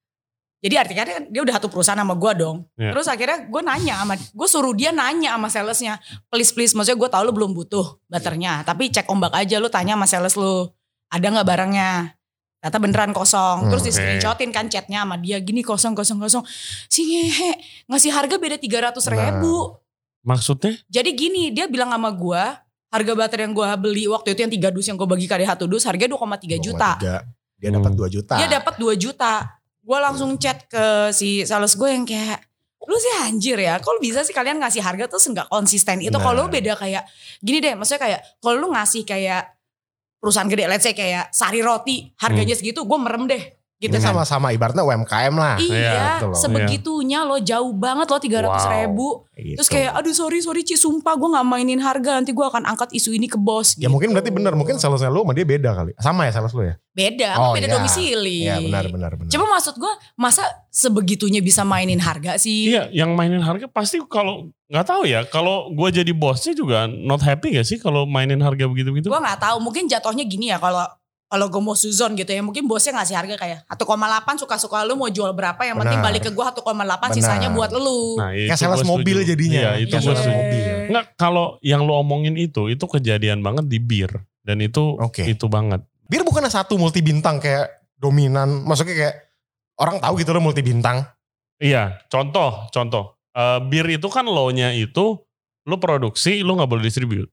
C: Jadi artinya dia udah satu perusahaan sama gue dong. Yeah. Terus akhirnya gue nanya sama, gue suruh dia nanya sama salesnya. Please please, maksudnya gue tahu lu belum butuh butternya. Tapi cek ombak aja, lu tanya sama sales lu. Ada gak barangnya? Ternyata beneran kosong. Terus okay. di screenshotin kan chatnya sama dia. Gini kosong, kosong, kosong. Si ngehe, ngasih harga beda tiga ratus ribu.
A: Nah, maksudnya?
C: Jadi gini, dia bilang sama gue, harga butter yang gue beli waktu itu yang tiga dus yang gue bagi kali satu dus, harganya dua koma tiga juta.
B: Dia dapat dua juta.
C: Dia dapat dua juta. Gue langsung chat ke si sales gue yang kayak, lu sih anjir ya, kok bisa sih kalian ngasih harga tuh gak konsisten itu. Nah. Kalau lu beda kayak, gini deh maksudnya kayak, kalau lu ngasih kayak perusahaan gede, let's say kayak Sari Roti, harganya hmm. segitu, gue merem deh. Gitu
B: ini
C: kan.
B: sama-sama ibaratnya U M K M lah.
C: Iya, ya, sebegitunya lo jauh banget lo tiga ratus ribu. Wow, gitu. Terus kayak aduh sorry sorry Ci sumpah gue gak mainin harga, nanti gue akan angkat isu ini ke bos.
B: Ya gitu. Mungkin berarti benar, mungkin salesnya lo sama dia beda kali. Sama ya sales lo ya?
C: Beda,
B: oh,
C: beda
B: iya.
C: domisili.
B: Iya benar benar benar.
C: Cuma maksud gue masa sebegitunya bisa mainin harga sih?
A: Iya, yang mainin harga pasti kalau nggak tahu ya. Kalau gue jadi bosnya juga not happy gak sih kalau mainin harga begitu-begitu?
C: Gue nggak tahu, mungkin jatuhnya gini ya kalau kalau gue mau suzon gitu ya, mungkin bosnya ngasih harga kayak satu koma delapan suka-suka lu mau jual berapa, yang penting balik ke gue satu koma delapan sisanya buat lu.
A: Nah,
B: kayak sales mobil jadinya.
A: Iya, itu gue mobil. Enggak, kalau yang lu omongin itu, itu kejadian banget di bir. Dan itu okay. itu banget.
B: Bir bukannya satu multi bintang kayak dominan, maksudnya kayak orang tahu gitu loh multi bintang.
A: Iya, contoh, contoh. Uh, bir itu kan low-nya itu, lu produksi, lu gak boleh distribute.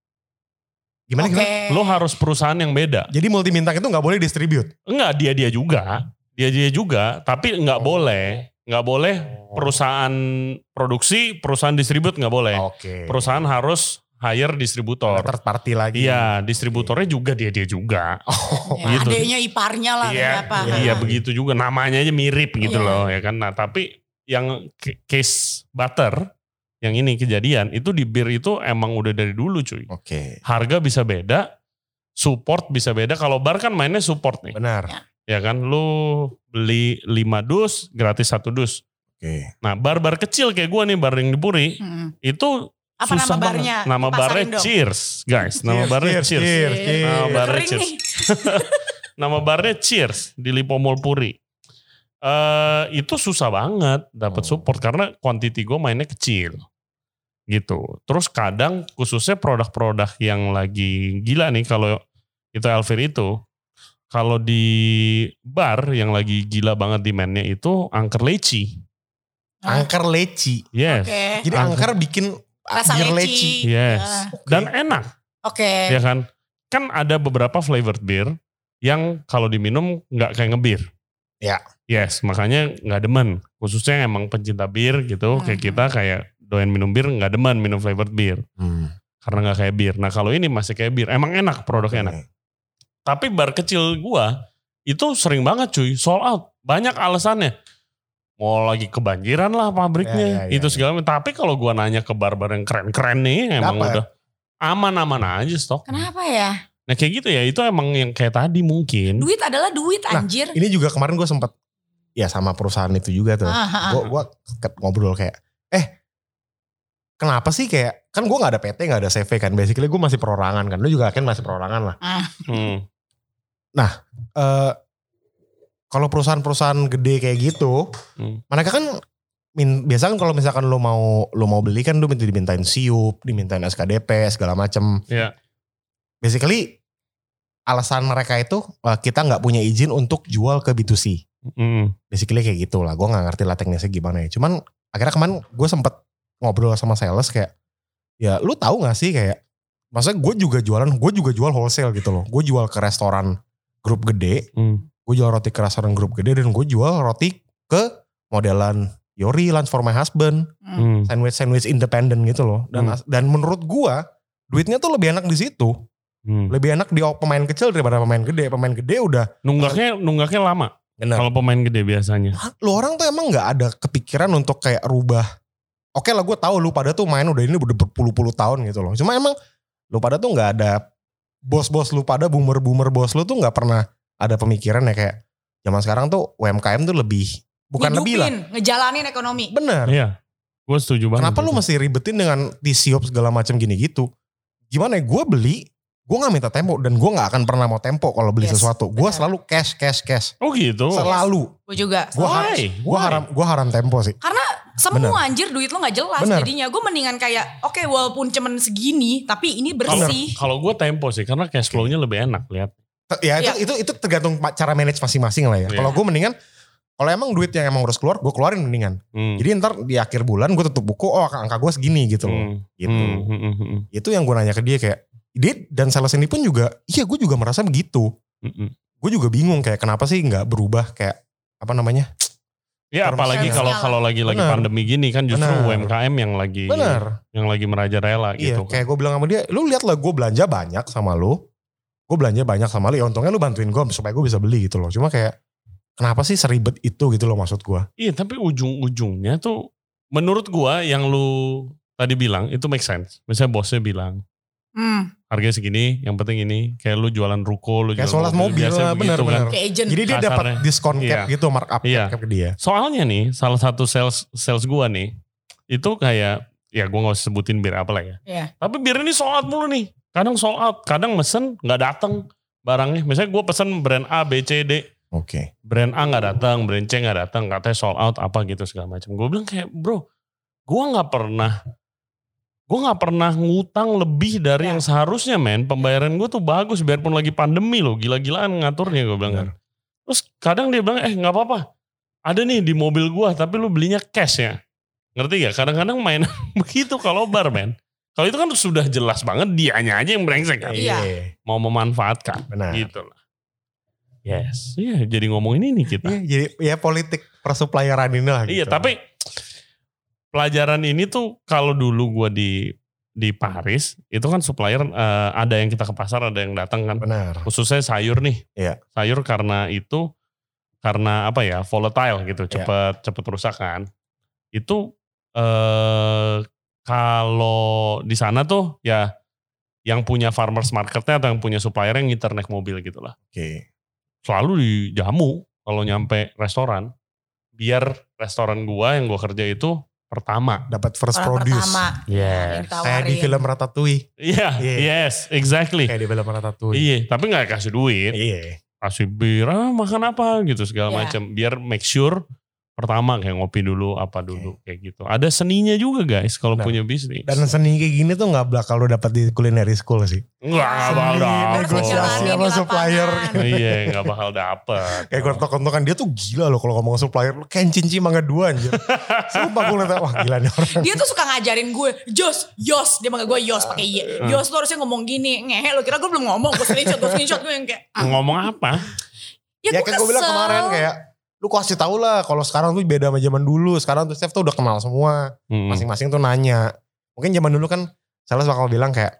B: Gimana
C: okay.
B: gimana?
A: Lo harus perusahaan yang beda.
B: Jadi multi bintang itu gak boleh distribute?
A: Enggak, dia-dia juga. Dia-dia juga, tapi gak oh. boleh. Gak boleh perusahaan produksi, perusahaan distribute gak boleh.
B: Okay.
A: Perusahaan harus hire distributor.
B: Third party lagi.
A: Iya, distributornya okay. juga dia-dia juga.
C: Oh. Ya, gitu. Adanya iparnya lah.
A: Iya, apa. Iya begitu juga. Namanya aja mirip gitu yeah. loh ya kan. Nah tapi yang case butter, yang ini kejadian itu di bir itu emang udah dari dulu cuy.
B: Oke. Okay.
A: Harga bisa beda, support bisa beda. Kalau bar kan mainnya support nih.
B: Benar.
C: Ya,
A: ya kan, lu beli lima dus gratis satu dus.
B: Oke. Okay.
A: Nah bar-bar kecil kayak gue nih, bar yang di Puri hmm. itu
C: apa
A: susah
C: nama barnya?
A: Banget. Nama barnya dong. Cheers guys. Nama cheers, barnya Cheers. cheers. cheers. cheers. Nama barnya Cheers. Nama barnya Cheers di Lipo Mall Puri. Uh, itu susah banget dapat oh. support karena quantity gue mainnya kecil gitu. Terus kadang khususnya produk-produk yang lagi gila nih, kalau itu Elvir itu, kalau di bar yang lagi gila banget demandnya itu angker leci.
B: Angker leci.
A: Yes.
C: Okay.
B: Jadi angker, angker bikin
C: rasa
B: bir
C: leci.
B: leci.
A: Yes.
C: Uh,
A: okay. Dan enak.
C: Oke. Okay.
A: Ya kan? Kan ada beberapa flavored beer yang kalau diminum nggak kayak ngebir.
B: Ya.
A: Yes, makanya nggak demen. Khususnya emang pencinta bir gitu, hmm. kayak kita kayak doyan minum bir nggak demen minum flavored beer. Hmm. Karena nggak kayak bir. Nah kalau ini masih kayak bir. Emang enak, produknya okay. enak. Tapi bar kecil gua itu sering banget cuy, sold out. Banyak alasannya. mau lagi kebanjiran lah pabriknya.
B: Ya, ya, ya,
A: itu
B: ya.
A: segala macam. Tapi kalau gue nanya ke barbar yang keren-keren nih emang
B: Dapat.
A: udah aman-aman aja stok.
C: Kenapa ya?
A: Nah kayak gitu ya itu emang yang kayak tadi mungkin.
C: Duit adalah duit anjir.
B: Ini juga kemarin gue sempet ya sama perusahaan itu juga tuh.
C: Ah, ah,
B: Gue gue ngobrol kayak eh kenapa sih kayak kan gue nggak ada P T nggak ada C V kan. Basically gue masih perorangan kan. Lu juga kan masih perorangan lah.
C: ah.
A: Hmm.
B: Eh kalau perusahaan-perusahaan gede kayak gitu,
A: Hmm.
B: mereka kan min, biasa kan kalau misalkan lu mau lu mau beli kan lu minta dimintain siup, dimintain S K D P segala macem.
A: Iya.
B: Basically alasan mereka itu uh, kita nggak punya izin untuk jual ke B two C.
A: Hmm.
B: Basically kayak gitu lah. Gue nggak ngerti lah teknisnya gimana ya. Cuman akhirnya kemarin gue sempet ngobrol sama sales kayak, ya lu tahu nggak sih kayak, maksudnya gue juga jualan, gue juga jual wholesale gitu loh. Gue jual ke restoran grup gede.
A: Hmm.
B: Gue jual roti ke restoran grup gede dan gue jual roti ke modelan Yori, Lunch for My Husband,
A: Hmm.
B: sandwich-sandwich independen gitu loh. Dan
A: Hmm.
B: dan menurut gue duitnya tuh lebih enak di situ.
A: Hmm.
B: Lebih enak di pemain kecil daripada pemain gede. Pemain gede udah
A: Nunggaknya nunggaknya lama.
B: bener.
A: Kalau pemain gede biasanya.
B: Lu orang tuh emang gak ada kepikiran untuk kayak rubah. Oke lah gue tahu lu pada tuh main udah ini udah berpuluh-puluh tahun gitu loh. Cuma emang lu pada tuh gak ada bos-bos lu pada boomer-boomer bos lu tuh gak pernah ada pemikiran ya kayak zaman sekarang tuh U M K M tuh lebih bukan
C: Ngidupin,
B: lebih lah.
C: ngejalanin ekonomi.
B: Bener.
A: Iya. Gue setuju banget.
B: Kenapa lu
A: itu.
B: mesti ribetin dengan T-Siop segala macam gini gitu? Gimana ya gue beli, gue gak minta tempo dan gue gak akan pernah mau tempo kalau beli
C: Yes,
B: sesuatu. Gue
C: bener.
B: selalu cash, cash, cash.
A: Oh gitu.
B: Selalu.
C: Gue juga.
B: Gue haram,
A: Why?
B: gue haram, gue haram tempo sih.
C: Karena semua anjir duit lo gak jelas
B: Bener.
C: jadinya. Gue mendingan kayak oke walaupun cuman segini tapi ini
A: Kalau
C: bersih.
A: kalau gue tempo sih karena cash flow-nya lebih enak lihat.
B: Ya itu,
C: Ya.
B: itu itu tergantung cara manage masing-masing lah ya.
A: Iya.
B: Kalau gue mendingan, kalau emang duit yang emang harus keluar, gue keluarin mendingan.
A: Hmm.
B: Jadi ntar di akhir bulan gue tutup buku, oh angka gue segini gitu loh.
A: Hmm.
B: Gitu.
A: Hmm, hmm, hmm, hmm.
B: Itu yang gue nanya ke dia kayak, dia dan sales ini pun juga, iya gue juga merasa begitu.
A: Hmm, hmm.
B: Gue juga bingung kayak kenapa sih nggak berubah kayak apa namanya?
A: Ya
B: Terus
A: apalagi kalau
C: finansial.
A: kalau lagi lagi
B: Bener.
A: pandemi gini kan justru
B: Bener.
A: U M K M yang lagi
B: Bener.
A: yang lagi merajalela
B: Iya,
A: gitu.
B: kayak gue bilang sama dia, lu lihat lah gue belanja banyak sama lu. Gue belanja banyak sama lu, ya untungnya lu bantuin gue supaya gue bisa beli gitu loh. Cuma kayak, kenapa sih seribet itu gitu loh maksud gue.
A: Iya tapi ujung-ujungnya tuh menurut gua yang lu tadi bilang itu make sense. Misalnya bosnya bilang
C: Hmm,
A: harganya segini, yang penting ini. Kayak lu jualan ruko, lu
B: Kayak
A: jualan
B: soal mobil
A: biasa
B: lah,
A: begitu
B: bener,
A: kan.
B: bener.
C: kayak agent.
B: Jadi dia dapat
A: Kasarnya.
B: diskon cap
A: Iya.
B: gitu, markup
A: Iya.
B: cap ke dia.
A: Soalnya nih salah satu sales sales gua nih itu kayak ya gua gak usah sebutin bir apa lah ya.
C: Iya.
A: Tapi bir ini sold out mulu nih. Kadang sold out, kadang mesen gak datang barangnya. Misalnya gua pesen brand A, B, C, D.
B: Oke.
A: Brand A gak datang, brand C gak datang, katanya sold out apa gitu segala macam. Gue bilang kayak bro, gue gak pernah, gue gak pernah ngutang lebih dari
C: Ya.
A: yang seharusnya men. Pembayaran gue tuh bagus biarpun lagi pandemi loh, gila-gilaan ngaturnya gue bilang kan. Terus kadang dia bilang eh gak apa-apa, ada nih di mobil gue tapi lu belinya cash ya. Ngerti gak? Kadang-kadang main begitu kalau bar men. Kalau itu kan sudah jelas banget dianya aja yang brengsek kan.
C: Iya.
A: Mau memanfaatkan
B: Benar.
A: gitu lah. Yes, iya jadi ngomongin ini kita.
B: Iya, jadi ya politik persupplieran ini lah gitu.
A: Iya, tapi pelajaran ini tuh kalau dulu gue di di Paris itu kan supplier eh, ada yang kita ke pasar, ada yang datang kan.
B: Benar.
A: Khususnya sayur nih.
B: Iya.
A: Sayur karena itu karena apa ya? Volatile gitu,
B: Iya.
A: cepet cepet rusak kan. Itu eh kalau di sana tuh ya yang punya farmers marketnya atau yang punya supplier yang ngiter naik mobil gitu lah.
B: Oke.
A: Selalu dijamu kalau nyampe restoran. Biar restoran gua yang gua kerja itu pertama.
B: Dapat first
C: Orang
B: produce.
C: pertama.
A: Yes.
C: Yang
B: Kayak di
C: ditawarin.
B: film Ratatouille.
A: Iya,
B: Iya.
A: yes, exactly.
B: Kayak di film Ratatouille.
A: Iya, tapi gak kasih duit.
B: Iya.
A: Kasih bir, ah, makan apa gitu segala
C: Iya.
A: macam. Biar make sure pertama kayak ngopi dulu, apa dulu kayak gitu. Ada seninya juga guys kalau
B: Benar.
A: punya bisnis.
B: Dan seni kayak gini tuh gak bakal lo dapat di culinary school sih.
A: Enggak, gak bakal
B: Seni,
A: dapet.
B: negosiasi
C: Jalanin
B: sama
C: di
B: supplier.
C: lapangan.
A: Iya, gak bakal dapet.
B: Kayak gontok-gontokan dia tuh gila loh kalau ngomong supplier. Kayak cinci mangga dua anjir. Sumpah gue ngeliat, wah gila nih orang.
C: Dia tuh suka ngajarin gue, Jos, Yos. Dia manggil gue Yos pakai Y. Yos tuh harusnya ngomong gini. Ngehe lo kira gue belum ngomong. Gue screenshot, gue screenshot. Gue yang kayak, ah,
A: Ngomong apa?
C: ya,
B: Ya
C: gue
B: kan gue bilang
C: kesel.
B: kemarin kayak, lu kasih tau lah kalau sekarang tuh beda sama zaman dulu. Sekarang tuh chef tuh udah kenal semua.
A: Hmm.
B: Masing-masing tuh nanya. Mungkin zaman dulu kan sales bakal bilang kayak,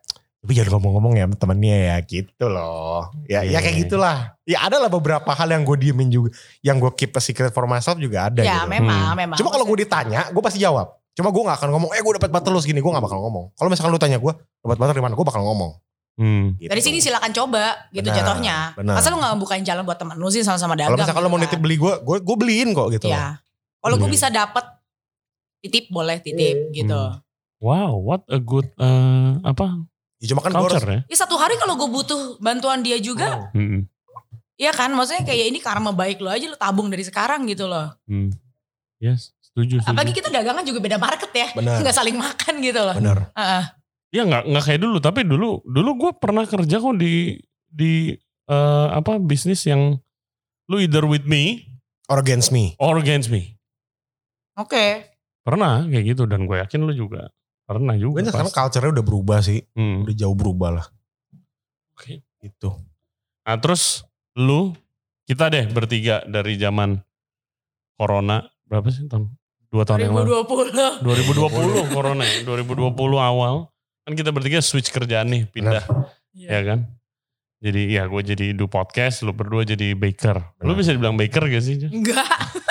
D: Tapi jangan ngomong-ngomong ya temennya ya gitu loh. Ya, yeah. ya kayak gitulah. Ya ada lah beberapa hal yang gue diemin juga. Yang gue keep a secret for myself juga ada
C: ya,
D: gitu.
C: Ya memang,
D: hmm.
C: memang.
D: Cuma kalau gue ditanya, gue pasti jawab. Cuma gue gak akan ngomong, eh gue dapat butter lu segini. Gue gak bakal ngomong. Kalau misalkan lu tanya gue, dapat butter di mana? Gue bakal ngomong.
A: Hmm.
C: Gitu. Dari sini silakan coba gitu benar, jatuhnya.
D: Benar.
C: Masa lu gak bukain jalan buat temen lu sih sama-sama dagang.
D: Kalau misalkan
C: gitu
D: lu mau nitip beli gue, gue, gue beliin kok gitu.
C: Ya. Kalau gue bisa dapet titip boleh titip hmm. gitu.
A: Wow, what a good uh, apa?
D: Ya cuma kan
A: culture
D: harus,
A: ya.
C: Ya satu hari kalau gue butuh bantuan dia juga.
A: Oh. Hmm.
C: Iya kan, maksudnya kayak ini karma baik lo aja lo tabung dari sekarang gitu loh.
A: Hmm. Yes, setuju, setuju.
C: Apalagi kita dagangan juga beda market ya.
D: Benar.
C: Gak saling makan gitu loh.
D: Benar.
C: Uh-uh.
A: Ya gak, gak kayak dulu, tapi dulu dulu gue pernah kerja kok di di uh, apa bisnis yang lu either with me
D: or against me.
A: Or against me.
C: Oke. Okay.
A: Pernah kayak gitu dan gue yakin lu juga pernah juga.
D: Gue sekarang culture-nya udah berubah sih.
A: Hmm.
D: Udah jauh berubah lah.
A: Oke. Okay.
D: Gitu.
A: Nah terus lu, kita deh bertiga dari zaman corona, berapa sih tahun? Dua tahun yang lalu.
C: dua ribu dua puluh.
A: dua ribu dua puluh corona ya, dua ribu dua puluh awal. Kan kita bertiga switch kerjaan nih, pindah. Benar. Ya kan? Jadi ya gue jadi do podcast, lu berdua jadi baker. Benar. Lu bisa dibilang baker gak sih?
C: Enggak.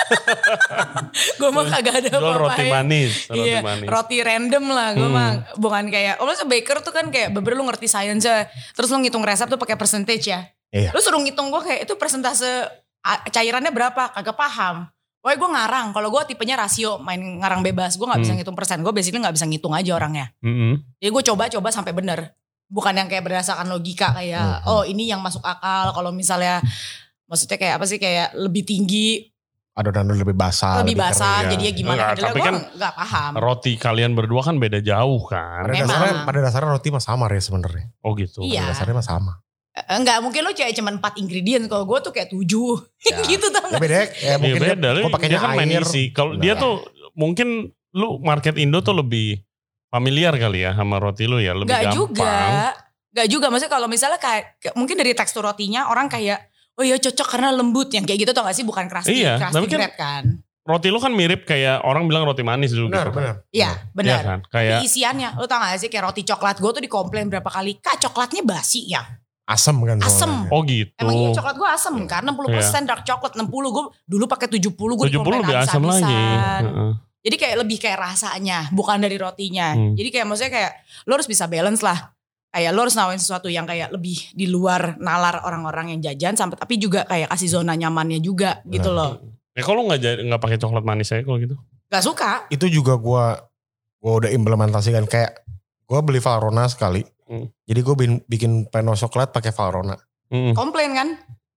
C: Gue mah kagak ada
A: apa-apa.
C: Jual
A: roti manis. Roti
C: iya,
A: manis.
C: Roti random lah. Gue hmm. mah bukan kayak, oh maksudnya baker tuh kan kayak bener lu ngerti science-nya. Terus lu ngitung resep tuh pakai percentage ya.
D: Iya.
C: Lu suruh ngitung gue kayak itu persentase cairannya berapa, kagak paham. Pokoknya gue ngarang, kalau gue tipenya rasio main ngarang bebas, gue gak bisa
A: hmm.
C: ngitung persen, gue basically gak bisa ngitung aja orangnya.
A: Hmm.
C: Jadi gue coba-coba sampai bener. Bukan yang kayak berdasarkan logika kayak, hmm. oh ini yang masuk akal, kalau misalnya maksudnya kayak apa sih, kayak lebih tinggi.
D: Adonan lebih basah.
C: Lebih, lebih basah,
A: ya.
C: jadinya gimana,
A: Enggak,
C: adalah
A: tapi
C: gue
A: kan
C: gak paham.
A: Roti kalian berdua kan beda jauh kan.
D: Pada dasarnya, pada dasarnya roti mah sama ya sebenarnya.
A: Oh gitu.
C: Iya.
D: Pada dasarnya mah sama.
C: Enggak, mungkin lo kayak cuma empat ingredient, kalau gue tuh kayak tujuh. Ya. Gitu tau
D: gak? Ya beda, ya mungkin
A: ya beda.
D: gue pakainya
A: kan
D: air.
A: Kalau dia tuh mungkin lu market Indo tuh lebih familiar kali ya sama roti lu ya, lebih
C: gak
A: gampang.
C: Juga. Gak juga, maksudnya kalau misalnya kayak, mungkin dari tekstur rotinya orang kayak, oh iya cocok karena lembut, yang kayak gitu tau gak sih, bukan keras
A: iya,
C: keras
A: kan,
C: kan.
A: Roti lu kan mirip kayak orang bilang roti manis dulu.
D: Benar,
A: gitu.
D: benar.
C: Iya, benar.
A: Ya kan? Kayak
C: di isiannya, lu tau gak sih kayak roti coklat, gue tuh dikomplain berapa kali, kak coklatnya basi ya.
D: Asem kan.
C: Asem.
A: Oh gitu.
C: Emang iya coklat gue asem kan, enam puluh persen yeah. dark coklat, enam puluh gue dulu pakai tujuh puluh, gue dikomplain
A: lebih asam lagi. Uh-uh.
C: Jadi kayak lebih kayak rasanya, bukan dari rotinya. Hmm. Jadi kayak maksudnya kayak lo harus bisa balance lah. Kayak lo harus nawarin sesuatu yang kayak lebih di luar nalar orang-orang yang jajan, sampai tapi juga kayak kasih zona nyamannya juga nah. gitu loh.
A: Ya kalau nggak nggak pakai coklat manis aja kalau gitu?
C: Gak suka.
D: Itu juga gue gue udah implementasikan, kayak gue beli Valrhona sekali. Hmm. Jadi gue bikin peno coklat pakai Valrhona.
A: Hmm.
C: Komplain kan?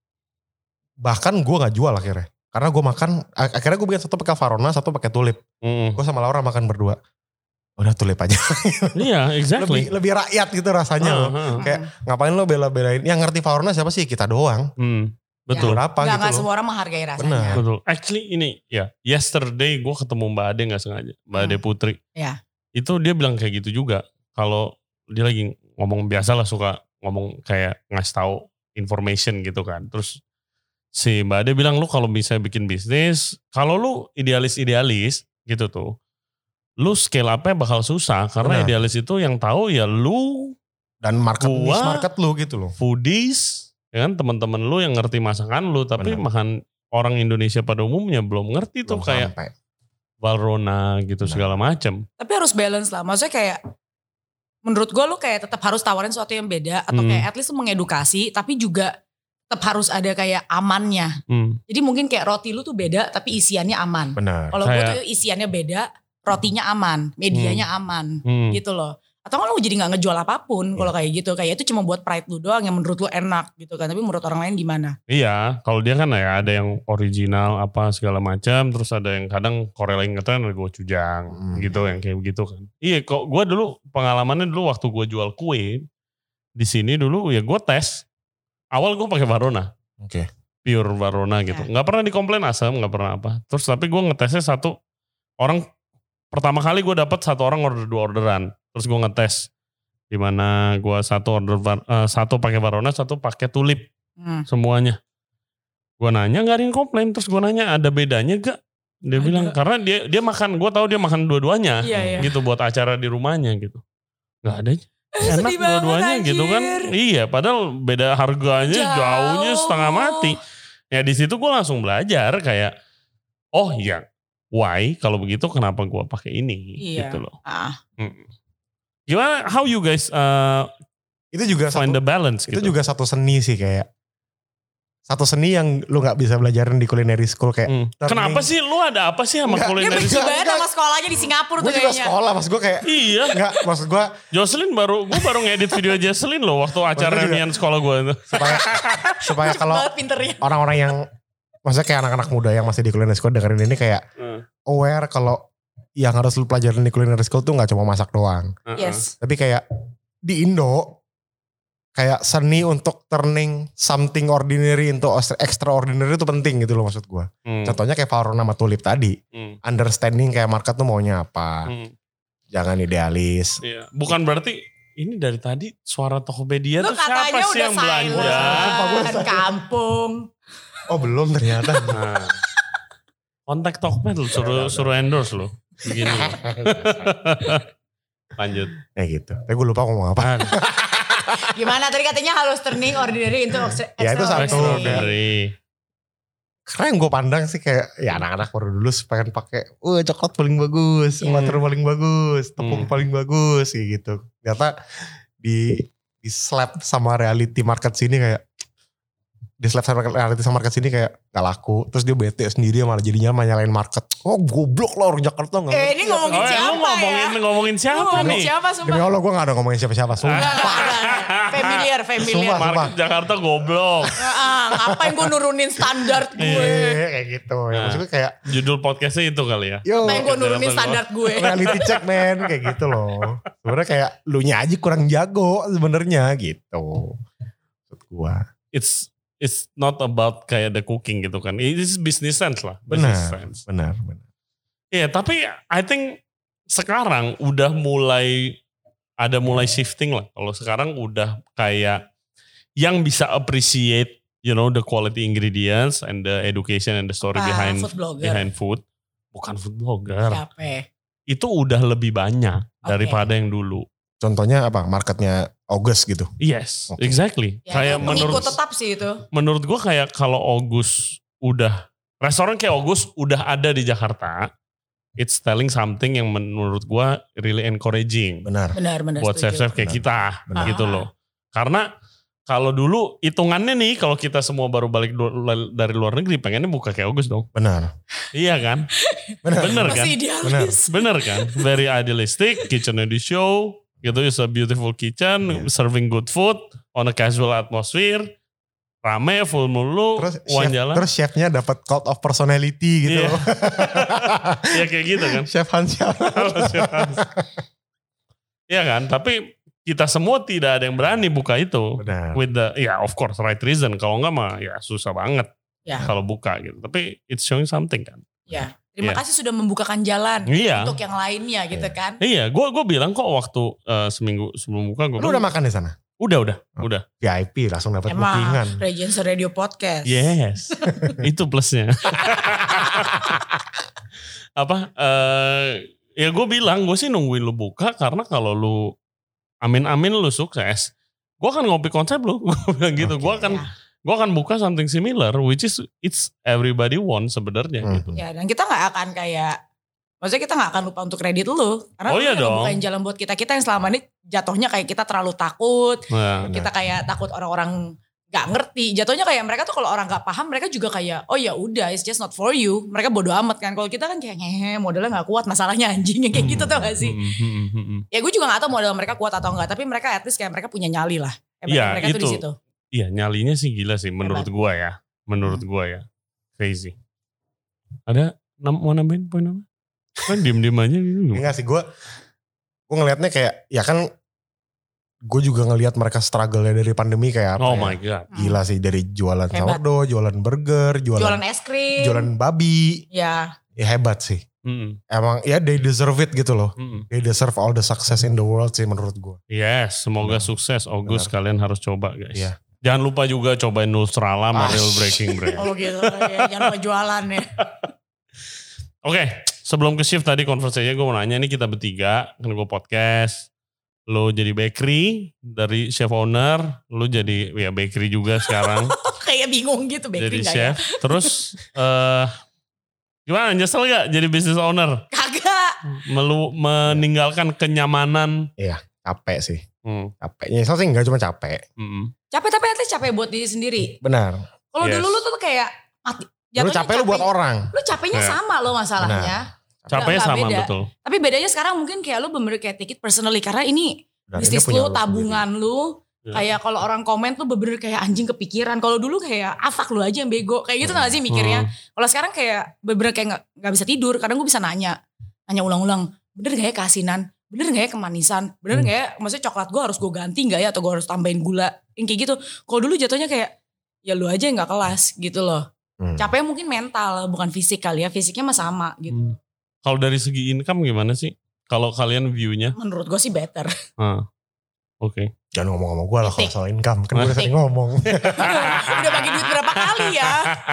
D: Bahkan gue nggak jual akhirnya, karena gue makan. Akhirnya gue bikin satu pakai Valrhona, satu pakai tulip. Hmm. Gue sama Laura makan berdua. Udah tulip aja.
A: Iya, exactly.
D: Lebih, lebih rakyat gitu rasanya uh, loh. Uh, Kayak ngapain lo bela-belain? Yang ngerti Valrhona siapa sih? Kita doang.
A: Hmm. Betul.
C: Ya,
D: apa
C: gak,
D: gitu
C: gak semua orang menghargai rasanya.
D: Benar.
A: Betul. Actually ini ya, yesterday gue ketemu Mbak Ade gak sengaja. Mbak Ade Putri.
C: Ya.
A: Itu dia bilang kayak gitu juga. Kalau dia lagi ngomong biasa lah, suka ngomong kayak ngasih tahu information gitu kan. Terus si Mbak Ade bilang, lu kalau bisa bikin bisnis, kalau lu idealis-idealis gitu tuh, lu scale up-nya bakal susah. Karena benar. Idealis itu yang tahu ya lu.
D: Dan market
A: gua,
D: niche market lu gitu loh.
A: Foodies. Ya kan teman-teman lu yang ngerti masakan lu, tapi benar. Makan orang Indonesia pada umumnya belum ngerti belum tuh kayak sampai. Valrhona gitu benar. Segala macam.
C: Tapi harus balance lah, maksudnya kayak menurut gue lu kayak tetap harus tawarin sesuatu yang beda atau hmm. kayak at least lu mengedukasi, tapi juga tetap harus ada kayak amannya. Hmm. Jadi mungkin kayak roti lu tuh beda tapi isiannya aman.
D: Benar.
C: Kalau gue tuh isiannya beda, rotinya aman, medianya hmm. aman, hmm. gitu loh. Atau kan lu jadi gak ngejual apapun kalau kayak gitu. Kayak itu cuma buat pride lu doang yang menurut lu enak gitu kan. Tapi menurut orang lain gimana?
A: Iya, kalau dia kan ya ada yang original apa segala macam. Terus ada yang kadang Korea yang ngetren ada gochujang hmm. gitu, yang kayak begitu kan. Iya, kok gue dulu pengalamannya dulu waktu gue jual kue di sini dulu ya gue tes. Awal gue pakai Valrhona.
D: Oke. Okay.
A: Pure Valrhona gitu. Ya. Gak pernah dikomplain asam, gak pernah apa. Terus tapi gue ngetesnya satu orang, pertama kali gue dapet satu orang order dua orderan. Terus gue ngetes di mana gue satu order uh, satu pakai Valrhona, satu pakai tulip hmm. semuanya. Gue nanya nggak ada yang komplain. Terus gue nanya ada bedanya gak? Dia ada. Bilang karena dia dia makan, gue tahu dia makan dua-duanya iya, iya. gitu buat acara di rumahnya gitu. Nggak ada. enak
C: Sedih banget,
A: dua-duanya gitu kan.
C: anjir.
A: Iya, padahal beda harganya
C: Jauh.
A: jauhnya setengah mati. Ya di situ gue langsung belajar kayak, oh iya, why kalau begitu kenapa gue pakai ini
C: Iya.
A: gitu loh.
C: Ah.
A: Mm. Gimana, how you guys uh,
D: Itu juga
A: find
D: satu,
A: the balance
D: itu
A: gitu?
D: juga satu seni sih kayak. Satu seni yang lu gak bisa belajarin di culinary school kayak.
A: Hmm. Kenapa sih lu ada apa sih sama
D: Enggak,
C: Dia
A: culinary?
C: benci
D: Enggak,
C: banget
D: enggak.
C: sama sekolahnya di Singapura
D: Gue
C: tuh
D: juga
C: kayaknya.
D: sekolah, maksud gue kayak.
A: Iya.
D: Enggak, maksud gue
A: Jocelyn baru, gue baru ngedit video Jocelyn loh waktu acara
D: Gua juga.
A: reunian sekolah gue itu.
D: supaya supaya
C: Cepet
D: kalau
C: banget pinternya.
D: orang-orang yang maksudnya kayak anak-anak muda yang masih di culinary school dengerin ini kayak
A: Hmm.
D: aware kalau yang harus lu pelajarin di culinary school tuh gak cuma masak doang.
A: Uh-uh.
C: Yes.
D: Tapi kayak di Indo kayak seni untuk turning something ordinary into extraordinary itu penting gitu loh maksud gue.
A: Hmm.
D: Contohnya kayak Farona sama Tulip tadi.
A: Hmm.
D: Understanding kayak market tuh maunya apa.
A: Hmm.
D: Jangan idealis.
A: Iya. Bukan berarti ini dari tadi suara Tokopedia
C: Lu
A: tuh siapa
C: katanya
A: sih
C: udah
A: yang belanja?
C: silent. Kampung.
D: Oh belum ternyata.
A: Nah. Kontak Tokped lu suruh suruh endorse lu. Begini. loh. Lanjut.
D: Ya gitu. Tapi gue lupa ngomong apa.
A: Apaan?
C: Gimana tadi katanya harus turning ordinary into extra-
D: Ya, itu satu.
A: Extraordinary.
D: Karena yang gue pandang sih kayak ya anak-anak baru dulu pengen pakai, wah coklat paling bagus,
C: Iya.
D: butter paling bagus, tepung
A: Hmm.
D: paling bagus kayak gitu. Ternyata di di slap sama reality market sini kayak di slap sama reality sama market sini kayak gak laku. Terus dia bete sendiri malah jadinya malah nyalain market. Oh goblok lah orang Jakarta gak
C: Eh
D: ngerti
C: ini
D: apa.
C: ngomongin
A: Oh,
C: siapa
A: lu ngomongin
C: ya?
A: ngomongin
C: Lu
A: siapa
C: ngomongin
A: nih?
C: siapa sumpah?
D: Demi Allah gue gak ada ngomongin siapa-siapa.
C: Enggak,
D: Sumpah.
C: enggak, enggak. Familiar, familiar.
D: Sumpah.
A: Market Jakarta goblok.
C: Ah, ngapain gue nurunin standar gue?
D: Iya kayak gitu. Ya,
A: Nah.
D: maksudnya kayak
A: Judul podcastnya itu kali ya.
D: yo
C: Ngapain gue nurunin
A: Jakarta
C: standar gue?
D: reality check men kayak gitu loh. Sebenarnya kayak lu nya aja kurang jago sebenarnya gitu. Maksud gua.
A: It's it's not about kayak the cooking gitu kan. It's business sense lah. Business
D: Benar,
A: sense.
D: benar, benar.
A: Iya, tapi I think sekarang udah mulai ada mulai shifting lah. Kalau sekarang udah kayak yang bisa appreciate, you know, the quality ingredients and the education and the story
C: Ah,
A: behind
C: food blogger.
A: behind food. Bukan food blogger.
C: Siapa?
A: Itu udah lebih banyak
C: Oke.
A: daripada yang dulu.
D: Contohnya apa? Marketnya August gitu.
A: Yes,
D: Oke.
A: exactly.
C: Ya,
A: kayak menurut
C: pengikut tetap sih itu.
A: menurut gua kayak kalau August udah restoran kayak August udah ada di Jakarta, it's telling something yang menurut gua really encouraging
D: Benar.
C: Benar, benar.
A: buat
C: setuju.
A: chef-chef kayak
D: Benar.
A: kita
D: Benar.
A: gitu loh. Karena kalau dulu hitungannya nih kalau kita semua baru balik du- dari luar negeri pengennya buka kayak August dong.
D: Benar.
A: Iya kan?
D: Benar.
A: Bener kan?
C: Masih idealis.
A: Bener kan? Very idealistic, kitchennya di show, gitu, it's a beautiful kitchen,
D: Yeah.
A: serving good food on a casual atmosphere, rame, full mulu,
D: Terus
A: uang
D: chef,
A: jalan.
D: terus chefnya dapat cult of personality gitu.
A: Iya. Ya kayak gitu kan.
D: Chef Hans siapa?
A: Iya kan? Tapi kita semua tidak ada yang berani buka itu.
D: Benar.
A: With the, ya of course right reason. Kalau enggak mah ya susah banget
C: Ya.
A: kalau buka gitu. Tapi it's showing something kan.
C: Ya. Terima
A: Iya.
C: kasih sudah membukakan jalan
A: Iya.
C: untuk yang lainnya gitu kan.
A: Iya, gue gue bilang kok waktu eh, seminggu sebelum buka gue
D: Lu udah makan di sana?
A: udah udah
D: Oh.
A: udah.
D: V I P langsung dapat
C: Emang
D: bookingan.
C: Regency Radio Podcast.
A: Yes, itu plusnya. Apa? eh ya gue bilang gue sih nungguin lu buka karena kalau lu amin-amin lu sukses, gue akan ngopi konsep lu. Gue bilang gitu.
D: Oke.
A: Gue akan
C: Ya.
A: gue akan buka something similar, which is it's everybody want sebenarnya
D: Hmm.
A: gitu.
C: Ya, dan kita nggak akan kayak, maksudnya kita nggak akan lupa untuk kredit lu. Karena
A: Oh
C: lu
A: iya
C: yang
A: dong.
C: ngebukain jalan buat kita-kita yang selama ini jatuhnya kayak kita terlalu takut.
A: Nah,
D: Benar.
C: Kita kayak takut orang-orang gak ngerti. Jatuhnya kayak mereka tuh kalau orang gak paham, mereka juga kayak, oh ya udah, it's just not for you. Mereka bodo amat kan. Kalau kita kan kayak, ngehe, modalnya gak kuat, masalahnya anjing. Kayak gitu tau gak sih?
A: hmm, hmm, hmm, hmm.
C: Ya gue juga gak tahu modal mereka kuat atau enggak. Tapi mereka at least kayak mereka punya nyali lah. Hebatnya
A: Iya,
C: mereka tuh di
A: itu.
C: situ.
A: Iya, nyalinya sih gila sih menurut
C: Hebat.
A: gua ya. Menurut gua ya. Crazy. Ada nam- mau nambahin poin apa? Kan diem-diem aja gitu.
D: Enggak sih gue gue ngelihatnya kayak ya kan gue juga ngelihat mereka struggle-nya dari pandemi kayak apa
A: Oh
D: ya.
A: my god.
D: Gila sih dari jualan
C: Hebat.
D: sourdough, jualan burger, jualan
C: Jualan es krim.
D: jualan babi.
C: Ya.
D: Ya hebat sih.
A: Mm-mm.
D: Emang ya they deserve it gitu loh.
A: Mm-mm.
D: They deserve all the success in the world sih menurut gue.
A: Yes, semoga
D: Benar.
A: sukses. August
D: Benar.
A: kalian harus coba guys.
D: Iya.
A: Jangan lupa juga cobain Nustrala sama
D: Ah,
A: Real Breaking Bread.
C: Oh gitu. Ya, jangan lupa jualan ya.
A: Oke, sebelum ke shift tadi konversasinya gue mau nanya, ini kita bertiga, kan gue podcast. lu jadi bakery, dari chef owner, lu jadi ya bakery juga sekarang.
C: Kayak bingung gitu bakery
A: jadi
C: gak
A: chef.
C: ya?
A: Terus uh, gimana, nyesel gak jadi business owner?
C: Kagak.
A: Melu, meninggalkan kenyamanan.
D: Iya, capek sih.
A: Hmm.
D: Capeknya sih enggak cuma capek.
A: Hmm.
C: Capek tapi at least capek buat diri sendiri.
D: Benar.
C: Kalau
A: Yes.
C: dulu lu tuh kayak mati.
D: Lu capek lu buat orang.
C: Lu capeknya
A: Ya.
C: sama lo masalahnya.
A: Capeknya
C: Nggak
A: sama
C: beda.
A: betul.
C: Tapi bedanya sekarang mungkin kayak lu bener-bener kayak take it personally. Karena ini
D: Dan
C: bisnis
D: ini punya
C: lu, tabungan lu.
A: Ya.
C: Kayak kalau orang komen tuh bener-bener kayak anjing kepikiran. Kalau dulu kayak afak lu aja yang bego. Kayak gitu gak sih mikirnya.
A: Hmm.
C: Kalau sekarang kayak bener-bener kayak gak, gak bisa tidur. Kadang gue bisa nanya. Nanya ulang-ulang. Bener gak ya keasinan? Bener gak ya kemanisan? Bener
D: Hmm.
C: gak ya maksudnya coklat gue harus gue ganti gak ya? Atau gue harus tambahin gula? Yang kayak gitu. Kalau dulu jatuhnya kayak ya lu aja yang gak kelas gitu loh.
D: Hmm.
C: Capeknya mungkin mental bukan fisik kali ya. Fisiknya mah sama gitu.
A: Hmm. Kalau dari segi income gimana sih? Kalau kalian view-nya?
C: Menurut gue sih better.
A: Ah, Oke.
D: Jangan ngomong sama gue lah kalau
C: Titik.
D: soal income. Kan gue udah sering ngomong.
C: Udah bagi duit berapa kali ya?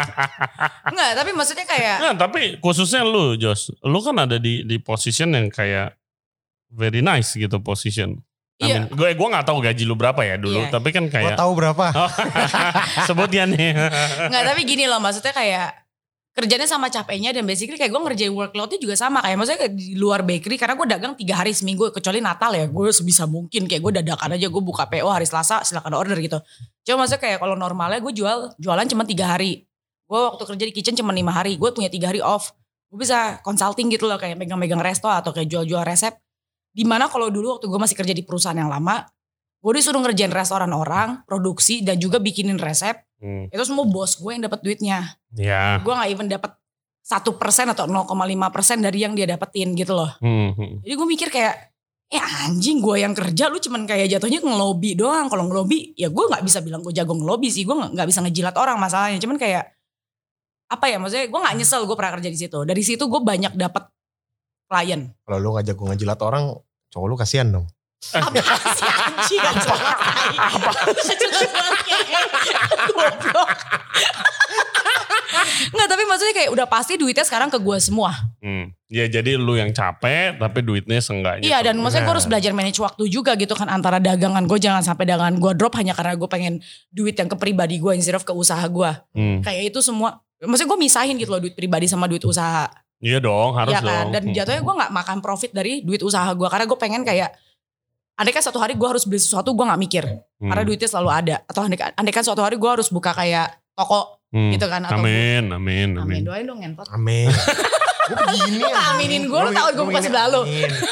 C: Enggak, tapi maksudnya kayak
A: Nah, tapi khususnya lu, Jos. Lu kan ada di di position yang kayak very nice gitu position.
C: Iya.
A: Gue gue nggak tahu gaji lu berapa ya dulu,
C: Iya.
A: tapi kan
D: Gue
A: kayak
D: tahu berapa.
A: Oh, sebut ya nih.
C: enggak, tapi gini loh maksudnya kayak kerjanya sama capeknya dan basically kayak gue ngerjain workloadnya juga sama kayak maksudnya kayak di luar bakery karena gue dagang tiga hari seminggu kecuali Natal ya gue sebisa mungkin kayak gue dadakan aja gue buka P O hari Selasa silakan order gitu. Cuma maksudnya kayak kalau normalnya gue jual jualan cuma tiga hari. Gue waktu kerja di kitchen cuma lima hari. Gue punya tiga hari off. Gue bisa consulting gitu loh kayak megang-megang resto atau kayak jual-jual resep. Dimana kalau dulu waktu gue masih kerja di perusahaan yang lama, gue disuruh ngerjain restoran orang, produksi dan juga bikinin resep.
A: Hmm.
C: Itu semua bos gue yang dapat duitnya.
A: Ya.
C: Gue gak even dapat satu persen atau nol koma lima persen dari yang dia dapetin gitu loh.
A: Hmm, hmm.
C: Jadi gue mikir kayak, eh anjing gue yang kerja lu cuman kayak jatuhnya ngelobi doang. Kalau ngelobi ya gue gak bisa bilang gue jago ngelobi sih. Gue gak, gak bisa ngejilat orang masalahnya. Cuman kayak, apa ya maksudnya gue gak nyesel gue pernah kerja di situ. Dari situ gue banyak dapet klien.
D: Kalau lu gak jago ngejilat orang, cowok lu kasihan dong.
C: Apa sih anjing gak jelas. Apa? Gak jelas banget. Goblok. Nggak, tapi maksudnya kayak udah pasti duitnya sekarang ke gue semua.
A: Hmm. Ya jadi lu yang capek tapi duitnya seenggaknya.
C: Iya dan maksudnya gue
D: Nah.
C: harus belajar manage waktu juga gitu kan. Antara dagangan gue jangan sampai dagangan gue drop hanya karena gue pengen duit yang ke pribadi gue instead of ke usaha gue.
A: Hmm.
C: Kayak itu semua. Maksudnya gue misahin gitu loh duit pribadi sama duit usaha.
A: Iya dong, harus
C: Iya kan.
A: dong.
C: Dan
A: Hmm.
C: jatuhnya gue gak makan profit dari duit usaha gue. Karena gue pengen kayak, andai kan suatu hari gue harus beli sesuatu gue gak mikir.
A: Hmm.
C: Karena duitnya selalu ada. Atau andai, andai kan suatu hari gue harus buka kayak toko
A: Hmm.
C: gitu kan. Atau
A: Amin, amin,
C: Gua,
A: amin.
C: amin doain dong ngentot.
D: Amin. Gue begini
C: Lu aminin gue, lu tau gue buka sebelah lu.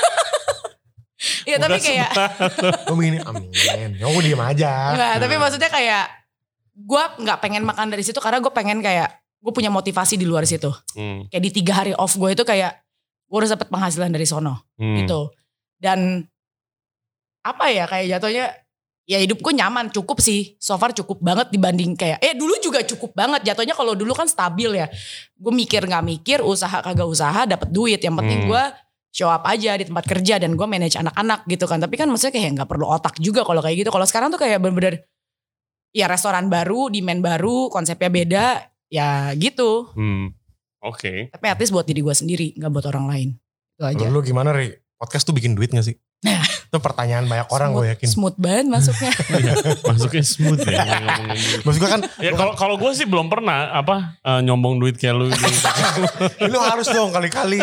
C: Iya tapi
A: Bukan
C: kayak,
D: Gue begini, amin. Ya gue diem aja.
C: enggak, tapi maksudnya kayak, gue gak pengen makan dari situ karena gue pengen kayak, gue punya motivasi di luar situ.
A: Hmm.
C: Kayak di tiga hari off gue itu kayak, gue harus dapet penghasilan dari sono.
A: Hmm.
C: Gitu. Dan apa ya kayak jatuhnya ya hidup gue nyaman cukup sih. So far cukup banget dibanding kayak eh dulu juga cukup banget jatuhnya kalau dulu kan stabil ya. Gue mikir gak mikir usaha kagak usaha dapet duit. Yang penting
A: Hmm.
C: gue show up aja di tempat kerja dan gue manage anak-anak gitu kan. Tapi kan maksudnya kayak gak perlu otak juga kalau kayak gitu. Kalau sekarang tuh kayak bener-bener ya restoran baru, demand baru, konsepnya beda ya gitu.
A: Hmm. Oke.
C: Tapi at least buat diri gue sendiri gak buat orang lain. Itu aja.
D: Lu, lu gimana Ri? Podcast tuh bikin duit gak sih? Itu pertanyaan banyak orang gue yakin.
C: Smooth banget masuknya.
A: Iya, masuknya smooth ya ngomongin duit.
D: Maksud gue kan,
A: Ya kalau kalau gue sih belum pernah apa eh, nyombong duit kayak lu. gitu.
D: lu harus dong kali-kali.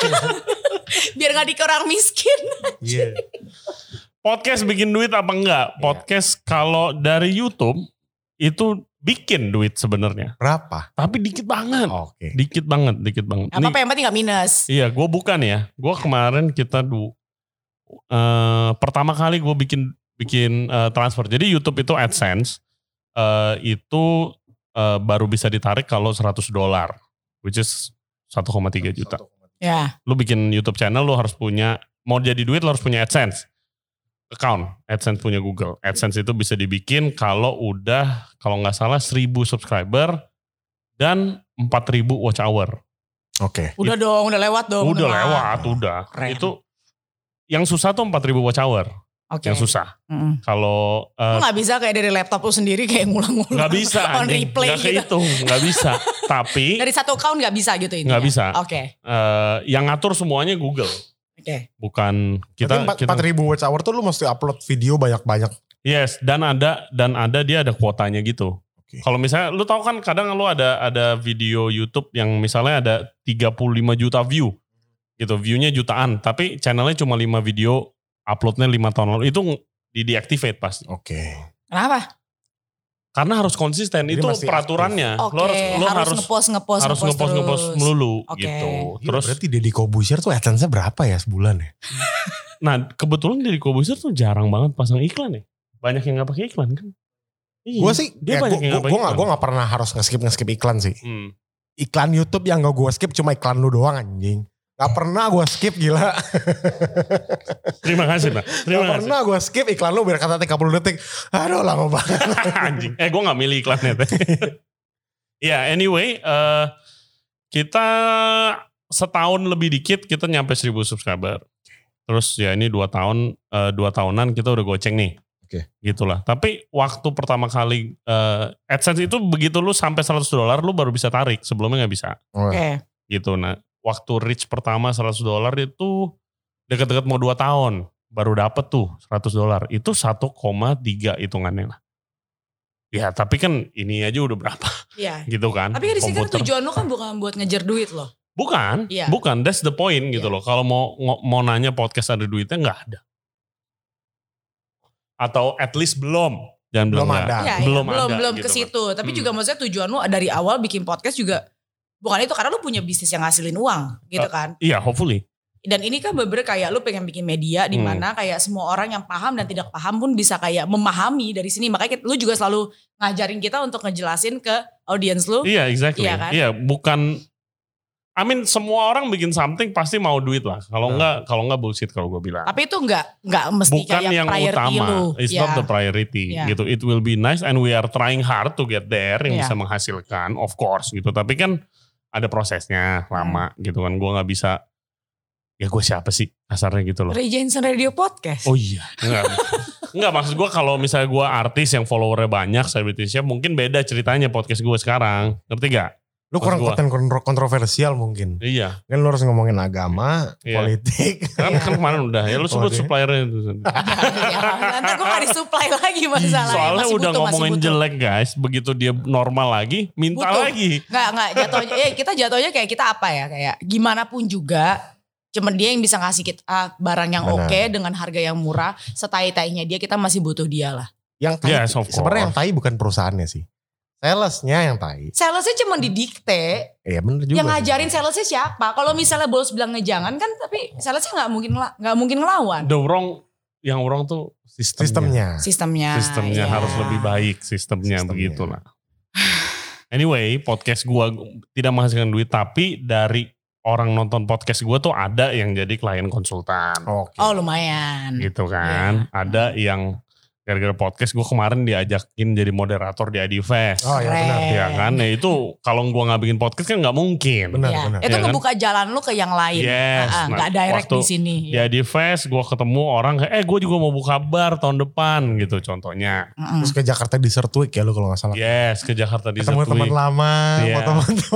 C: Biar gak dikira orang miskin.
D: Iya.
A: Podcast bikin duit apa enggak? Podcast kalau dari YouTube itu bikin duit sebenarnya.
D: Berapa?
A: Tapi dikit banget.
D: Oke.
A: Dikit banget, dikit banget.
C: Gak apa-apa yang penting gak minus.
A: Iya, gue bukan ya. Gue kemarin kita du, eh, pertama kali gue bikin bikin eh, transfer. Jadi YouTube itu AdSense eh, itu eh, baru bisa ditarik kalau seratus dolar, which is satu koma tiga juta.
C: Ya.
A: Lu bikin YouTube channel, lu harus punya, mau jadi duit lu harus punya AdSense account. AdSense punya Google. AdSense itu bisa dibikin kalau udah, kalau nggak salah seribu subscriber dan empat ribu watch hour.
D: Oke.
C: Udah dong, udah lewat dong.
A: Udah
C: Mah.
A: lewat, udah.
C: Keren.
A: Itu yang susah tuh empat ribu watch hour.
C: Oke.
A: Yang susah.
C: Mm-mm.
A: Kalau
C: Lu
A: uh,
C: gak bisa kayak dari laptop lu sendiri kayak ngulang-ngulang.
A: nggak bisa,
C: On
A: anjing.
C: replay
A: nggak
C: gitu.
A: kehitung, nggak bisa. Tapi
C: Dari satu account gak bisa gitu ini.
A: Nggak bisa.
C: Oke.
A: uh, yang ngatur semuanya Google.
C: Okay.
A: Bukan kita
D: empat ribu watch hour tuh lu mesti upload video banyak-banyak.
A: Yes, dan ada dan ada dia ada kuotanya gitu. Okay. Kalau misalnya lu tahu kan kadang lu ada ada video YouTube yang misalnya ada tiga puluh lima juta view. Gitu, view-nya jutaan, tapi channelnya cuma lima video, uploadnya lima tahun lalu, itu di deactivate pasti.
D: Oke. Okay.
C: Kenapa?
A: Karena harus konsisten, jadi itu peraturannya.
C: Oke,
A: okay. lo harus, lo
C: harus
A: harus
C: ngepost, ngepost,
A: harus
C: ngepost,
A: ngepost, ngepost melulu
C: okay.
A: gitu.
D: Ya,
A: terus
D: berarti Deddy Corbuzier tuh AdSense-nya berapa ya sebulan ya?
A: Nah, kebetulan Deddy Corbuzier tuh jarang banget pasang iklan ya. Banyak yang gak pakai iklan kan.
D: Iya, gue sih, dia ya, banyak gua, yang gak pakai iklan. Gue gak pernah harus nge-skip nge-skip iklan sih. Hmm. Iklan YouTube yang gak gue skip cuma iklan lu doang anjing. Gak pernah gue skip, gila.
A: Terima kasih Pak. Terima
D: gak kasih. Pernah gue skip iklan lu biar kata tiga puluh detik. Aduh lama banget.
A: Anjing. Eh gue gak milih iklannya. Ya yeah, anyway. Uh, kita setahun lebih dikit kita nyampe seribu subscriber. Terus ya ini dua tahun. Uh, dua tahunan kita udah goceng nih.
D: Oke. Okay.
A: Gitulah. Tapi waktu pertama kali uh, AdSense itu begitu lu sampai seratus dolar lu baru bisa tarik. Sebelumnya gak bisa.
C: Oke. Okay.
A: Gitu nah. Waktu reach pertama seratus dolar itu deket-deket mau dua tahun. Baru dapet tuh seratus dolar. Itu satu koma tiga hitungannya lah. Ya tapi kan ini aja udah berapa.
C: Iya.
A: Gitu kan.
C: Tapi di sini kan tujuan lo kan bukan buat ngejar duit loh.
A: Bukan.
C: Ya.
A: Bukan. That's the point gitu ya. Loh. Kalau mau mau nanya podcast ada duitnya gak ada. Atau at least belum. Jangan
D: belum
A: bilang
D: ada.
C: Ya,
A: belum
C: ya,
A: ada.
C: Belum, belum
A: gitu
C: ke situ.
A: kan.
C: Tapi
A: hmm.
C: juga maksudnya tujuan lo dari awal bikin podcast juga. Bukan itu karena lu punya bisnis yang ngasilin uang gitu kan.
A: Uh, iya hopefully.
C: Dan ini kan bener-bener kayak lu pengen bikin media di mana hmm. kayak semua orang yang paham dan tidak paham pun bisa kayak memahami dari sini. Makanya lu juga selalu ngajarin kita untuk ngejelasin ke audiens lu.
A: Iya exactly.
C: Iya kan?
A: Iya bukan. I mean semua orang bikin something pasti mau duit lah. Kalau nah. enggak kalau enggak bullshit kalau gue bilang.
C: Tapi itu enggak enggak mesti
A: bukan
C: kayak
A: yang
C: priority
A: utama.
C: lu.
A: It's
C: yeah.
A: not the priority.
C: Yeah.
A: Gitu. It will be nice and we are trying hard to get there yang yeah. bisa menghasilkan of course gitu. Tapi kan ada prosesnya lama hmm. gitu kan. Gue gak bisa. Ya gue siapa sih kasarnya gitu loh.
C: Ray Jensen Radio Podcast.
A: Oh iya. Enggak. Enggak maksud gue kalau misalnya gue artis yang followernya banyak. Selebritisnya mungkin beda ceritanya podcast gue sekarang. Ngerti gak?
D: Lu kurang konten kontroversial mungkin.
A: Iya.
D: Kan lu harus ngomongin agama, iya. politik.
A: Kan, kan kemarin udah. Ya lu sebut oh, suppliernya itu.
C: Nanti gue gak disupply lagi masalahnya.
A: Soalnya
C: masih
A: udah
C: butuh,
A: ngomongin jelek guys. Begitu dia normal lagi, minta
C: butuh.
A: lagi.
C: Enggak, enggak. Jatuhnya, ya kita jatuhnya kayak kita apa ya. Kayak gimana pun juga. Cuman dia yang bisa ngasih kita barang yang oke okay, dengan harga yang murah. Setai-tainya dia kita masih butuh dia lah.
D: Yang tai, yes, sebenarnya yang tai bukan perusahaannya sih. Salesnya yang tai.
C: Salesnya cuma didikte.
D: Iya bener juga.
C: Yang ngajarin salesnya siapa? Kalau misalnya bos bilang ngejangan kan, tapi salesnya nggak mungkin nggak mungkin ngelawan.
A: The wrong, yang orang tuh sistemnya.
C: Sistemnya. Sistemnya.
A: Sistemnya yeah. harus lebih baik sistemnya, sistemnya. Begitulah. Anyway, podcast gua tidak menghasilkan duit, tapi dari orang nonton podcast gua tuh ada yang jadi klien konsultan.
C: Okay. Oh lumayan.
A: Gitu kan. Yeah. Ada yang gara-gara podcast gue kemarin diajakin jadi moderator di Adifest.
D: Oh ya benar.
A: Ya kan, ya itu kalau gue gak bikin podcast kan gak mungkin.
D: Benar,
C: ya.
D: benar.
C: Itu
A: ya
C: ngebuka
A: kan?
C: jalan lu ke yang lain.
A: Yes.
C: Nah,
A: nah,
C: gak direct di sini.
A: Di Adifest gue ketemu orang, eh gue juga mau buka bar tahun depan gitu contohnya.
C: Mm-mm.
D: Terus ke Jakarta Dessert Week ya lu kalau gak salah.
A: Yes, ke Jakarta Dessert Week.
D: Ketemu teman lama,
A: yeah.
D: foto-foto.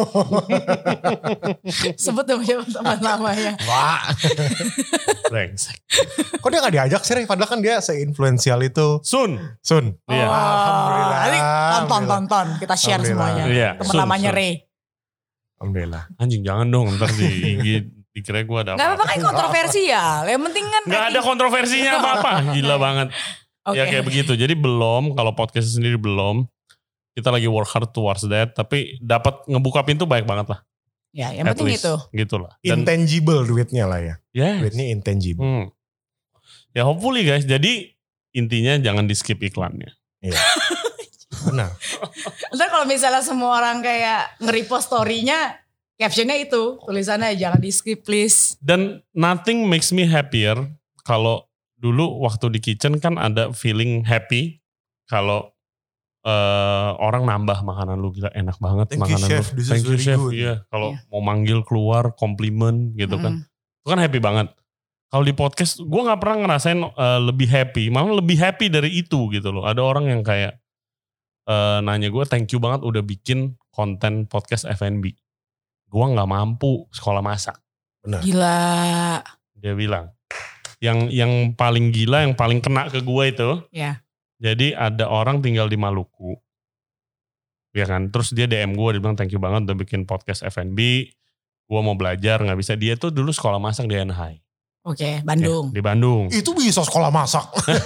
C: Sebut teman lama ya.
D: Wah.
A: Brengsek.
D: Kok dia gak diajak sih? Padahal kan dia se-influensial itu.
A: Sun.
D: Sun.
A: Iya.
C: Oh,
D: alhamdulillah.
C: Tonton, tonton. Kita share semuanya.
A: Iya.
C: Teman namanya Ray.
D: Alhamdulillah.
A: Anjing jangan dong ntar di I G dikira gue ada apa.
C: Gak apa-apa kan kontroversial. Yang penting kan.
A: Gak ada kontroversinya apa-apa. Gila banget. Okay. Ya kayak begitu. Jadi belum, kalau podcast sendiri belum. Kita lagi work hard towards that. Tapi dapat ngebuka pintu baik banget lah.
C: Ya yang
A: At
C: penting
A: least,
C: itu.
A: Gitu lah. Dan,
D: intangible duitnya lah ya.
A: Yes.
D: Duitnya intangible. Hmm.
A: Ya hopefully guys. Jadi intinya jangan di skip iklannya.
D: Iya. Benar.
C: Ntar kalau misalnya semua orang kayak nge-repost story-nya, captionnya itu, tulisannya jangan di skip please.
A: Dan nothing makes me happier kalau dulu waktu di kitchen kan ada feeling happy kalau uh, orang nambah makanan lu, gila enak banget
D: Thank
A: makanan
D: you,
A: lu.
D: chef. This
A: Thank you chef. Iya, kalau
C: yeah.
A: mau manggil keluar komplimen gitu mm. kan. Itu kan happy banget. Kalau di podcast gue gak pernah ngerasain uh, lebih happy. Malah lebih happy dari itu gitu loh. Ada orang yang kayak uh, nanya gue thank you banget udah bikin konten podcast F and B. Gue gak mampu sekolah masak.
D: Benar.
C: Gila.
A: Dia bilang, yang yang paling gila, yang paling kena ke gue itu.
C: Ya.
A: Jadi ada orang tinggal di Maluku. Ya kan, terus dia D M gue, dia bilang thank you banget udah bikin podcast F and B. Gue mau belajar, gak bisa. Dia tuh dulu sekolah masak di Anaheim.
C: Oke, Bandung.
A: Ya, di Bandung.
B: Itu bisa sekolah masak.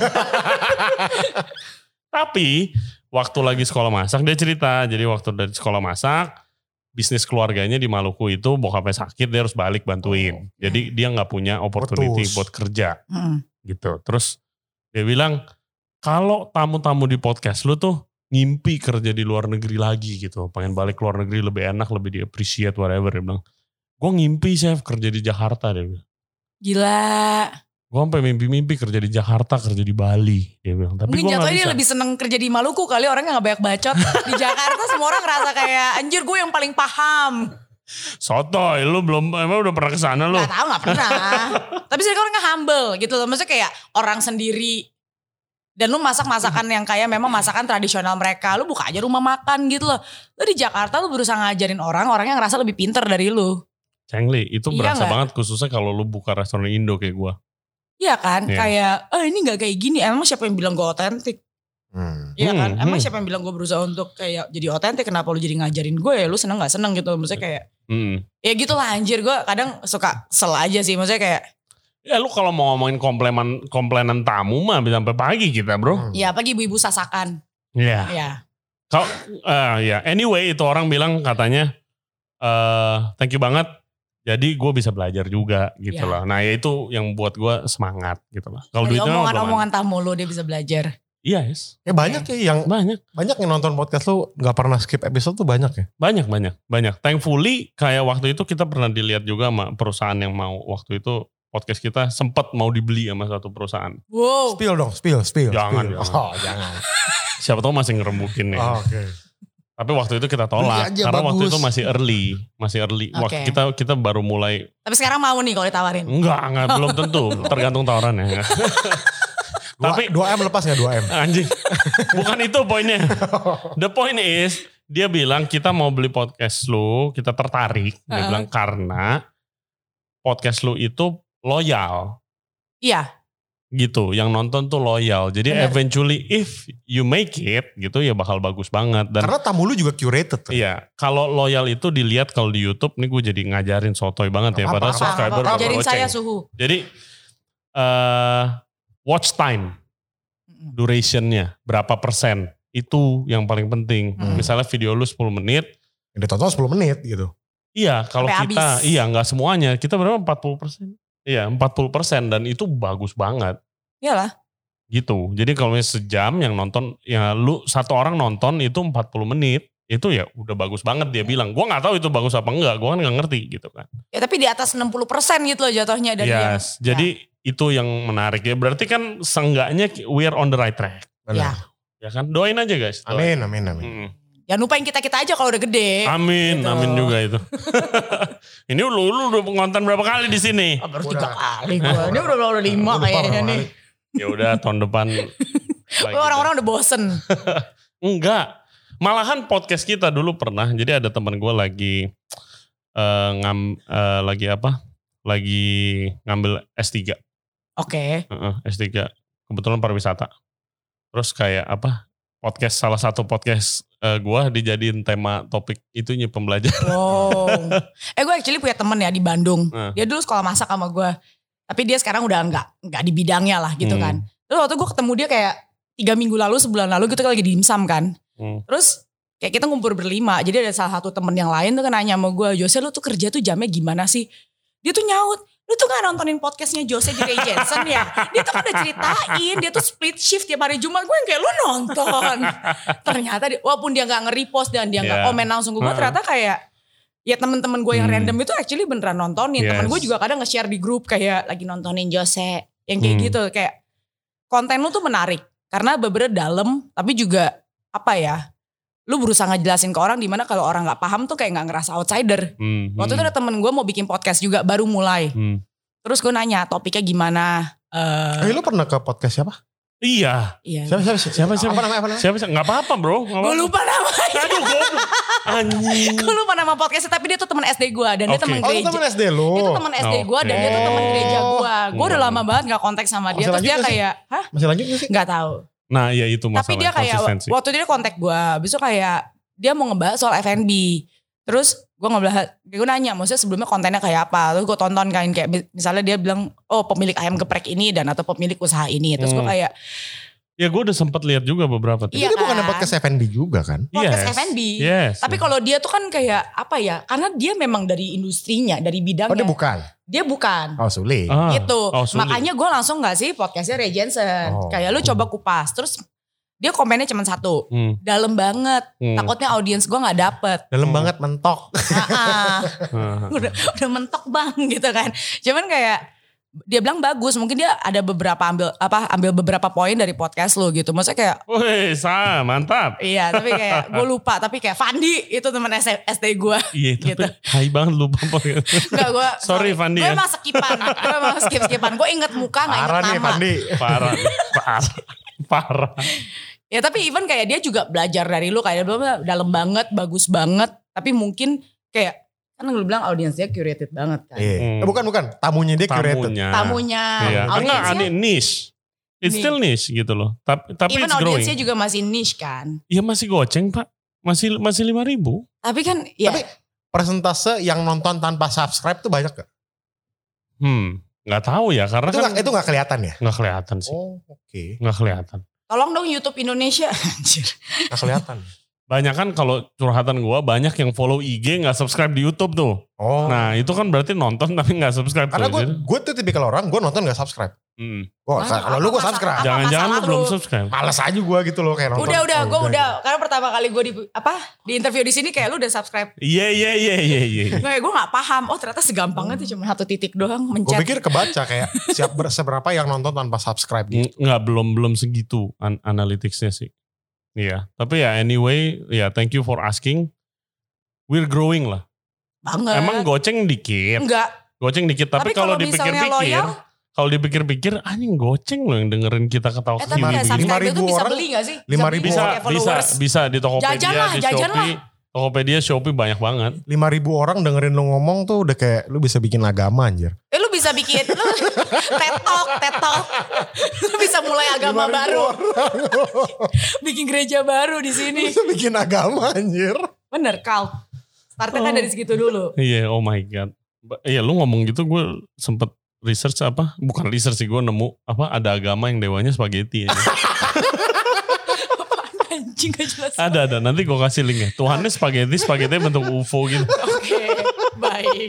A: Tapi waktu lagi sekolah masak dia cerita. Jadi waktu dari sekolah masak, bisnis keluarganya di Maluku itu bokapnya sakit, dia harus balik bantuin. Oh, jadi dia gak punya opportunity Betul. buat kerja. Hmm. Gitu. Terus dia bilang, kalau tamu-tamu di podcast lu tuh ngimpi kerja di luar negeri lagi gitu. Pengen balik ke luar negeri lebih enak, lebih di appreciate whatever. Dia bilang, gue ngimpi chef kerja di Jakarta. Dia bilang.
C: Gila.
A: Gue sampai mimpi-mimpi kerja di Jakarta, kerja di Bali. Dia bilang. Tapi
C: mungkin jatuhnya dia lebih seneng kerja di Maluku kali, orangnya gak banyak bacot. Di Jakarta semua orang ngerasa kayak, anjir gue yang paling paham.
A: Sotoy, lu belum, emang udah pernah kesana lu?
C: Gak tau, gak pernah. Tapi sih orangnya humble gitu loh. Maksudnya kayak orang sendiri. Dan lu masak masakan yang kayak memang masakan tradisional mereka. Lu buka aja rumah makan gitu loh. Lu di Jakarta lu berusaha ngajarin orang, orang yang ngerasa lebih pinter dari lu.
A: Cengli, itu
C: iya
A: berasa
C: gak?
A: banget khususnya kalau lu buka restoran Indo kayak gua.
C: Iya kan,
A: yeah.
C: kayak, oh ini gak kayak gini. Emang siapa yang bilang gue otentik? Iya hmm. kan,
A: hmm.
C: emang siapa yang bilang gue berusaha untuk kayak jadi otentik. Kenapa lu jadi ngajarin gue ya, lu seneng gak seneng gitu. Maksudnya kayak, hmm. ya gitu lah anjir. Gue kadang suka sel aja sih, maksudnya kayak,
A: ya lu kalau mau ngomongin komplainan komplainan tamu mah bisa sampai pagi kita bro.
C: Iya pagi ibu-ibu sasakan.
A: Iya.
C: Iya.
A: Kalau uh, ya anyway itu orang bilang katanya uh, thank you banget. Jadi gue bisa belajar juga gitu ya. Loh. Nah ya itu yang buat gue semangat gitu loh. Kalau duitnya
C: omongan-omongan tamu lu dia bisa belajar.
A: Iya yes.
D: Ya banyak ya yang
A: banyak
D: banyak yang nonton podcast lu nggak pernah skip episode tuh banyak ya.
A: Banyak banyak banyak. Thankfully kayak waktu itu kita pernah dilihat juga sama perusahaan yang mau waktu itu. Podcast kita sempat mau dibeli sama satu perusahaan.
C: Wow.
D: Spill dong, spill, spill.
A: Jangan,
D: spill.
A: jangan.
D: Oh, jangan.
A: Siapa tahu masih ngerembukin nih.
D: Oh, Oke. Okay.
A: Tapi waktu itu kita tolak karena
D: bagus.
A: waktu itu masih early, masih early.
C: Okay.
A: Waktu kita kita baru mulai.
C: Tapi sekarang mau nih kalau ditawarin?
A: Enggak, enggak belum tentu, tergantung tawarannya.
D: Tapi dua M lepas nggak dua M?
A: Anjing, bukan itu poinnya. The point is dia bilang kita mau beli podcast lu, kita tertarik. Dia uh. bilang karena podcast lu itu loyal.
C: Iya.
A: Gitu, yang nonton tuh loyal. Jadi bener. Eventually if you make it gitu ya bakal bagus banget. Dan
D: karena tamu lu juga curated. Kan?
A: Iya, kalau loyal itu dilihat kalau di YouTube, nih gue jadi ngajarin sotoy banget ya.
D: Apa,
A: Padahal
D: apa,
A: subscriber
C: apa, apa. Ngajarin saya suhu.
A: Jadi uh, watch time, durationnya berapa persen, itu yang paling penting. Hmm. Misalnya video lu sepuluh menit.
D: Yang ditonton sepuluh menit gitu.
A: Iya, kalau
C: sampai
A: kita,
C: habis.
A: iya gak semuanya. Kita berapa empat puluh persen. Iya empat puluh persen dan itu bagus banget.
C: Iyalah.
A: Gitu. Jadi kalau misalnya sejam yang nonton, ya lu satu orang nonton itu empat puluh menit. Itu ya udah bagus banget dia bilang. Gue gak tahu itu bagus apa enggak. Gue kan gak ngerti gitu kan.
C: Ya tapi di atas enam puluh persen gitu loh jatuhnya dari
A: yes. yang. Jadi ya. Itu yang menarik ya. Berarti kan seenggaknya we are on the right track.
C: Benar. Ya.
A: Ya kan. Doain aja guys.
D: Amin,
A: Doain.
D: amin, amin.
A: Hmm.
C: Jangan lupain kita-kita aja kalau udah gede.
A: Amin,
C: gitu.
A: Amin juga itu. Ini lu, lu udah ngonten berapa kali di sini?
C: Oh, baru tiga kali gue. Ini udah udah lima kayaknya nih.
A: Ya udah tahun depan.
C: Orang-orang udah bosen.
A: Enggak. Malahan podcast kita dulu pernah. Jadi ada teman gue lagi uh, ngam, uh, lagi apa? Lagi ngambil S tiga.
C: Oke. Okay.
A: Uh-uh, S tiga. Kebetulan pariwisata. Terus kayak apa? Podcast salah satu podcast uh, gue dijadiin tema topik itunya pembelajaran.
C: Wow. Eh gue actually punya temen ya di Bandung.
A: Nah.
C: Dia dulu sekolah masak sama gue. Tapi dia sekarang udah enggak enggak di bidangnya lah gitu hmm. kan. Terus waktu gue ketemu dia kayak tiga minggu lalu, sebulan lalu gitu lagi di dimsum kan. Hmm. Terus kayak kita ngumpul berlima. Jadi ada salah satu temen yang lain tuh kan nanya sama gue, Jose lu tuh kerja tuh jamnya gimana sih? Dia tuh nyaut, lu tuh gak nontonin podcastnya Jose J. Jensen ya? Dia tuh kan udah ceritain, dia tuh split shift tiap hari Jumat. Gue yang kayak lu nonton. Ternyata dia, walaupun dia gak nge-repost dan dia yeah. gak komen langsung ke gue, uh-huh. ternyata kayak ya temen-temen gue yang hmm. random itu actually beneran nontonin. Yes. Temen gue juga kadang nge-share di grup kayak lagi nontonin Jose. Yang kayak hmm. gitu, kayak konten lu tuh menarik. Karena beberapa dalam, tapi juga apa ya, lu berusaha ngejelasin ke orang dimana kalau orang gak paham tuh kayak gak ngerasa outsider. Hmm, Waktu hmm. itu ada temen gue mau bikin podcast juga, baru mulai. Hmm. Terus gue nanya topiknya gimana. Uh,
D: eh lu pernah ke podcast siapa?
A: Iya.
C: Iya.
B: Siapa siapa siapa siapa?
D: Apa namanya? Apa namanya?
A: Siapa sih? Gak apa-apa bro.
C: Gue lupa namanya.
A: Aduh goblok. Anjing.
C: Gue lupa nama podcastnya tapi dia tuh teman S D gue dan dia
A: Oke.
C: teman
D: Oh itu
C: gereja.
D: teman S D lu.
C: Dia tuh teman S D gue dan dia tuh teman
D: Oke.
C: gereja gue. Gue udah
A: Oh.
C: lama banget gak kontak sama dia.
D: Masih
C: Terus
D: lanjut
C: dia
D: gak sih?
C: kayak, hah?
D: Masih lanjut gak sih?
C: Gak tahu.
A: Nah ya itu masalah
C: Tapi dia kayak
A: konsistensi.
C: waktu dia kontak gue, abis itu kayak dia mau ngebahas soal F and B. Terus gue ngebahas, gue nanya maksudnya sebelumnya kontennya kayak apa. Terus gue tonton kan kayak misalnya dia bilang, oh pemilik ayam geprek ini dan atau pemilik usaha ini. Terus gue
A: Hmm.
C: kayak,
A: Ya gue udah sempat lihat juga beberapa.
C: Iya
D: Itu bukan
C: kan?
D: podcast F and B juga kan?
C: podcast
A: Yes.
C: F and B.
A: Yes.
C: Tapi kalau dia tuh kan kayak apa ya? Karena dia memang dari industrinya, dari bidangnya.
D: Oh dia bukan?
C: Dia bukan.
D: Oh Suli.
A: Ah,
C: gitu.
A: oh, sulit.
C: Makanya gue langsung gak sih podcastnya Ray Jensen.
D: Oh.
C: Kayak lu coba kupas. Terus dia komennya cuma satu.
A: Hmm,
C: Dalam banget.
A: hmm.
C: Takutnya audiens gue gak dapet.
D: Dalam
A: Hmm.
D: banget mentok.
C: Ah,
A: Ah,
C: udah, udah mentok bang gitu kan. Cuman kayak dia bilang bagus. Mungkin dia ada beberapa ambil apa ambil beberapa poin dari podcast lu gitu. Maksudnya kayak
A: Wih, Sa, mantap.
C: iya tapi kayak gue lupa. Tapi kayak Fandi itu teman S D gue.
A: Iya, tapi
C: Gitu.
A: hai banget lupa.
C: Enggak gue.
A: Sorry, Fandi
C: Gue
A: ya.
C: emang skipan. Gue emang skip-skipan. Gue inget muka gak inget
D: Parah nih
C: nama.
D: Pandi.
A: Parah, nih, parah, parah.
C: Ya tapi even kayak dia juga belajar dari lu. Kayak dia bilang dalam banget, bagus banget. Tapi mungkin kayak kan lu bilang audiensnya curated banget kan.
D: Iya.
A: Hmm.
D: Eh, bukan bukan. Tamunya dia curated.
A: Tamunya.
C: Tamunya,
A: Iya, karena
C: audiensnya.
A: ada niche. It's
C: Niche.
A: still niche gitu loh. Tapi tapi
C: Even
A: it's growing.
C: audiensnya juga masih niche kan.
A: Iya masih goceng pak. Masih masih lima ribu.
C: Tapi kan ya
D: Tapi persentase yang nonton tanpa subscribe tuh banyak gak?
A: Hmm, nggak tahu ya karena
D: Itu
A: kan
D: gak, itu gak kelihatan ya?
A: nggak kelihatan sih.
D: Oh oke.
A: Nggak kelihatan.
C: tolong dong YouTube Indonesia. Anjir.
D: Gak kelihatan.
A: Banyak kan kalau curhatan gua banyak yang follow I G nggak subscribe di YouTube tuh.
D: Oh.
A: Nah itu kan berarti nonton tapi nggak subscribe.
D: Karena
A: tuh.
D: gue
A: Jadi,
D: gue tuh tipikal orang gue nonton gak subscribe.
A: hmm.
D: Gue
C: Wah,
D: kalau lu
C: apa
D: gue
C: masalah-
D: subscribe.
C: apa
A: Jangan-jangan lu
C: masalah
A: belum
C: lu?
A: subscribe.
D: Males aja gue gitu loh kayak nonton.
C: Udah udah
D: Oh,
C: gue
D: udah.
C: udah karena pertama kali gue di apa di interview di sini kayak lu udah subscribe.
A: Iya iya iya iya iya.
C: Kayak gue nggak paham. Oh ternyata segampang itu cuma satu titik doang
D: Gue
C: mencet.
D: pikir kebaca kayak siap ber- seberapa yang nonton tanpa subscribe gitu.
A: Ng- Nggak belum belum segitu an analyticsnya sih. Iya. Tapi ya anyway ya thank you for asking. We're growing lah.
C: Banget.
A: Emang goceng dikit.
C: Enggak.
A: Goceng dikit. Tapi,
C: Tapi
A: kalau
C: kalau misalnya
A: dipikir-pikir.
C: loyal,
A: Kalau dipikir-pikir anjing goceng loh yang dengerin kita ketawa
C: eh tapi kayak
A: begini.
C: subscribe
D: lima
C: itu
D: ribu
C: bisa
D: orang,
C: beli gak sih?
D: lima
C: beli
D: ribu
A: Bisa
C: kayak
A: bisa
C: followers.
A: bisa di Tokopedia,
C: Jajan lah,
A: di
C: jajan
A: Shopee. Tokopedia, Shopee banyak banget.
D: lima ribu orang dengerin lu ngomong tuh udah kayak lu bisa bikin agama anjir.
C: Eh lu bisa bikin lu tetok, tetok. Lu bisa mulai agama
D: lima ribu
C: baru.
D: orang.
C: Bikin gereja baru di
D: Lu
C: sini.
D: bisa bikin agama anjir.
C: Bener, Kal. Startnya kan
A: Oh.
C: dari segitu dulu.
A: Iya, oh my god. Ba- Iya, lu ngomong gitu gue sempet research apa? Bukan research sih, gue nemu apa ada agama yang dewanya spaghetti aja.
C: Anjing gak jelas.
A: ada ada, nanti gue kasih linknya. Tuhannya spaghetti, spaghetti bentuk U F O gitu.
C: Oke, baik.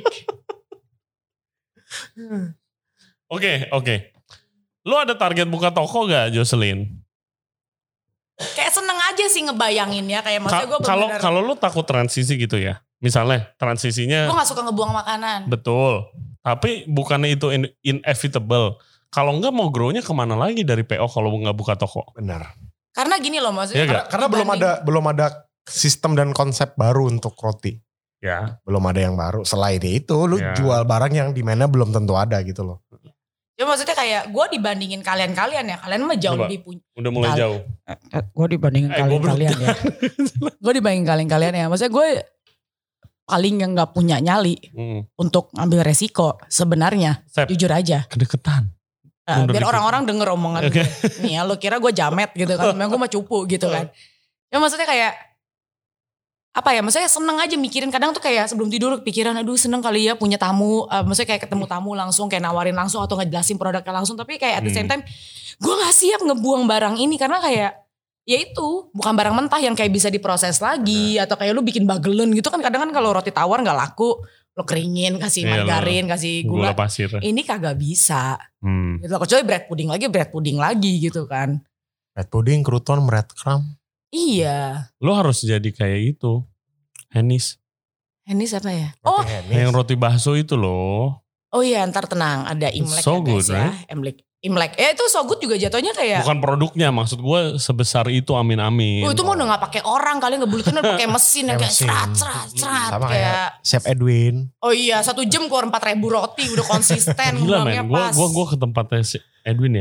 A: Oke, oke. Lu ada target buka toko gak, Jocelyn?
C: Kayak seneng aja sih ngebayanginnya. Kayak maksudnya gue
A: Ka- Kalau
C: bener-bener.
A: kalau lu takut transisi gitu ya. Misalnya transisinya
C: Gue gak suka ngebuang makanan.
A: betul. Tapi bukannya itu in- inevitable. Kalau enggak mau grow-nya kemana lagi dari P O kalau nggak buka toko?
D: Benar.
C: Karena gini loh maksudnya.
A: Iya
D: Karena, karena belum ada belum ada sistem dan konsep baru untuk roti.
A: Ya.
D: Belum ada yang baru. Selain itu lu
A: Ya.
D: jual barang yang di mana belum tentu ada gitu loh.
C: Ya maksudnya kayak gue dibandingin kalian-kalian ya. Kalian mah jauh
A: Coba.
C: lebih punya.
A: Udah mulai
C: Kal-
A: jauh.
C: Gue dibandingin
A: Eh, gua
C: kalian-kalian ya. Gue dibandingin kalian-kalian ya. Maksudnya gue paling yang gak punya nyali
A: Hmm.
C: untuk ngambil resiko sebenarnya.
A: Sep,
C: Jujur aja.
A: kedeketan.
C: Nah,
A: Mundur
C: biar
A: dikit.
C: orang-orang denger omongan
A: Oke.
C: gue. Nih ya lo kira gue jamet gitu kan. Memang gue mah cupu gitu kan. Ya maksudnya kayak. Apa ya maksudnya seneng aja mikirin. Kadang tuh kayak sebelum tidur kepikiran. Aduh seneng kali ya punya tamu. Uh, maksudnya kayak ketemu tamu langsung. Kayak nawarin langsung atau ngejelasin produknya langsung. Tapi kayak at the same time. Gue gak siap ngebuang barang ini. Karena kayak. Ya itu bukan barang mentah yang kayak bisa diproses lagi. Atau kayak lu bikin bagelen gitu kan. Kadang kan kalau roti tawar gak laku. Lo keringin kasih
A: Iya, lo-
C: margarin. Kasih
A: Gula
C: gula.
A: pasir.
C: Ini kagak bisa.
A: Hmm.
C: Gitu. Kecuali bread pudding lagi, bread pudding lagi gitu kan.
D: Red pudding, crouton, breadcrumb.
C: Iya.
A: Lo harus jadi kayak itu. Henis.
C: Ini siapa ya?
D: Roti
C: Oh,
D: Hennis.
A: Yang roti bakso itu loh.
C: oh iya ntar tenang. Ada Imlek
A: So
C: ya guys
A: good,
C: ya.
A: right?
C: Imlek. Imlek. Eh itu so good juga jatuhnya kayak.
A: Bukan produknya, maksud gue sebesar itu amin-amin.
C: Oh itu mau udah gak pakai orang kali ngebulutnya udah pakai mesin yang
D: Kayak
C: kayak
D: mesin.
C: serat serat serat
D: Sama
C: kayak.
D: kayak Chef Edwin.
C: Oh iya satu jam keluar empat ribu roti udah konsisten
A: Gila
C: ngulangnya
A: men, gue
C: pas.
A: gua, gua ke tempatnya si Edwin ya.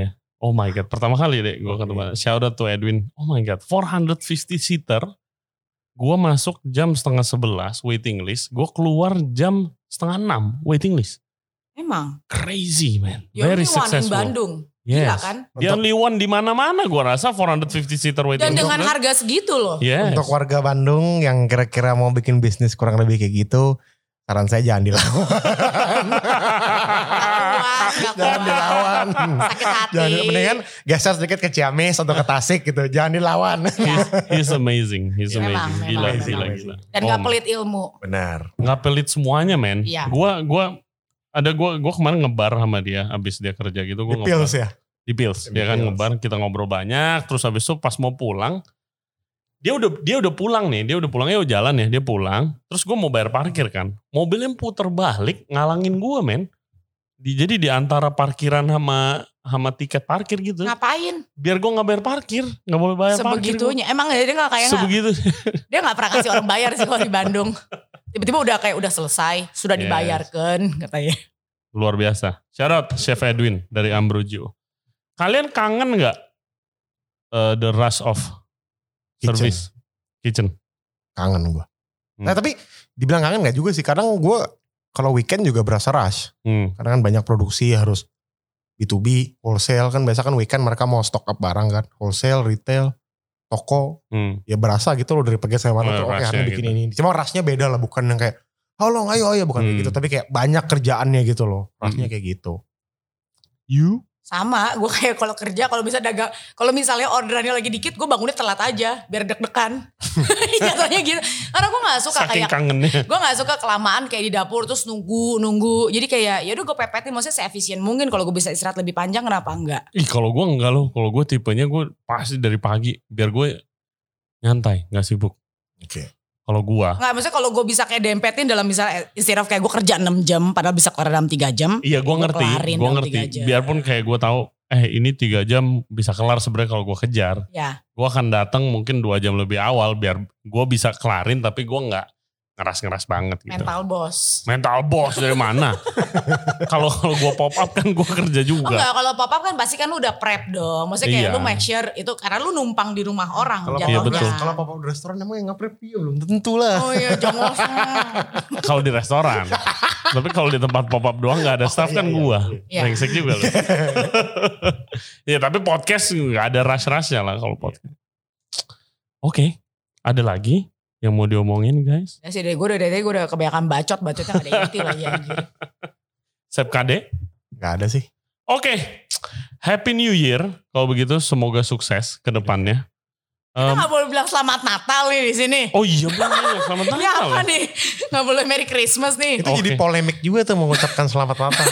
A: Oh my God, pertama kali deh gue ketemu. Shout out to Edwin. Oh my God, four hundred fifty seater. Gue masuk jam setengah sebelas waiting list. Gue keluar jam setengah enam waiting list.
C: Emang?
A: Crazy man.
C: The
A: Very
C: only one
A: successful.
C: in Bandung.
A: Yes.
C: Gila kan?
A: The only one di mana-mana gue rasa four hundred fifty seater waiting
C: Dan
A: list.
C: dengan harga segitu loh.
A: Yes.
D: Untuk warga Bandung yang kira-kira mau bikin bisnis kurang lebih kayak gitu, saran saya jangan dilawan. Jangan dilawan.
C: Sakit hati.
D: Jangan, mendingan geser sedikit ke Ciamis atau ke Tasik gitu. Jangan dilawan.
A: He's, he's amazing. He's
C: Memang,
A: amazing.
C: memang,
A: Gila,
C: memang.
A: gila, gila.
C: Dan
A: Oh,
C: gak pelit ilmu.
D: Benar.
A: Gak pelit semuanya men.
C: Iya.
A: Gua gua ada gua gua kemarin ngebar sama dia abis dia kerja gitu. Gua
D: Di Pils ya?
A: Di Pils.
D: Di
A: Dia kan
D: Pils.
A: ngebar, kita ngobrol banyak. Terus habis itu pas mau pulang, dia udah dia udah pulang nih. Dia udah pulang, ya udah jalan ya. Dia pulang. Terus gue mau bayar parkir kan. Mobilnya puter balik ngalangin gue men. Di, jadi di antara parkiran sama sama tiket parkir gitu.
C: Ngapain?
A: Biar gue nggak bayar parkir, nggak boleh bayar parkir.
C: Sebegitunya. Emang dia gak kayak gak,
A: Sebegitu.
C: dia gak pernah kasih orang bayar sih kalau di Bandung. Tiba-tiba udah kayak udah selesai. Sudah
A: Yes.
C: dibayarkan katanya.
A: Luar biasa. Shout out Chef Edwin dari Ambrogio. Kalian kangen nggak uh, the rush of
D: Kitchen.
A: service kitchen?
D: Kangen gue.
A: Hmm.
D: Nah tapi dibilang kangen gak juga sih. Kadang gue kalau weekend juga berasa rush.
A: Hmm.
D: Karena kan banyak produksi harus B to B, wholesale kan. Biasa kan weekend mereka mau stock up barang kan. Wholesale, retail, toko.
A: Hmm.
D: Ya berasa gitu loh dari pagi sampai malam.
A: Oh,
D: Oke
A: rushnya
D: hari ini bikin
A: gitu.
D: ini. Cuma rushnya beda lah. Bukan yang kayak tolong ayo ayo. Bukan kayak
A: Hmm.
D: gitu. Tapi kayak banyak kerjaannya gitu loh. Rushnya
A: Hmm.
D: kayak gitu.
A: You?
C: Sama, gue kayak kalau kerja, kalau bisa dagang, kalau misalnya orderannya lagi dikit, gue bangunnya telat aja, biar deg-degan. Jatuhnya gitu. Karena gue gak suka
A: Saking
C: kayak,
A: kangennya.
C: gue gak suka kelamaan kayak di dapur, terus nunggu, nunggu. Jadi kayak, yaudah gue pepetin, maksudnya se-efisien mungkin. Kalau gue bisa istirahat lebih panjang, kenapa enggak?
A: Ih kalau gue enggak loh. Kalau gue tipenya gue pasti dari pagi. Biar gue nyantai, gak sibuk.
D: Oke.
A: Kalau gue.
C: Enggak, maksudnya kalau gue bisa kayak dempetin dalam misalnya, instead of kayak gue kerja enam jam, padahal bisa kelar dalam tiga jam.
A: Iya gue
C: Gua
A: ngerti.
C: kelarin
A: Gue
C: dalam
A: ngerti.
C: tiga jam.
A: Biarpun kayak gue tahu. Eh ini tiga jam bisa kelar sebenarnya kalau gue kejar.
C: Ya,
A: Gue akan datang mungkin dua jam lebih awal. Biar gue bisa kelarin tapi gue gak ngeras-ngeras banget gitu.
C: mental bos.
A: Mental boss dari mana? Kalau kalau gue pop up kan gue kerja
C: Oh
A: juga.
C: enggak, kalau pop up kan pasti kan lu udah prep dong. Maksudnya kayak
A: Iya.
C: lu make sure itu, karena lu numpang di rumah orang.
D: Kalau
A: Iya,
D: papa
A: betul.
D: kalau papa di restoran emang yang nge-prep ya belum tentu lah.
C: Oh iya, jongos.
A: Kalau di restoran. Tapi kalau di tempat pop up doang gak ada staff
D: iya,
A: kan
D: iya,
A: gue.
C: iya.
A: Brengsek juga loh. Ya tapi podcast gak ada rush-rushnya lah kalau podcast. Oke, ada lagi yang mau diomongin guys?
C: Ya sih, gue udah dari tadi gue udah kebanyakan bacot, bacotnya gak ada inti lagi anjir.
A: Sep K D?
D: Gak ada sih.
A: Oke, Happy New Year. Kalau begitu semoga sukses ke depannya.
C: Kita
A: Um,
C: gak boleh bilang selamat Natal nih di sini.
A: oh iya bener, selamat
C: Ini
A: Natal.
C: apa nih? Gak boleh Merry Christmas nih.
D: Itu
A: Oke.
D: jadi polemik juga tuh mengucapkan selamat Natal.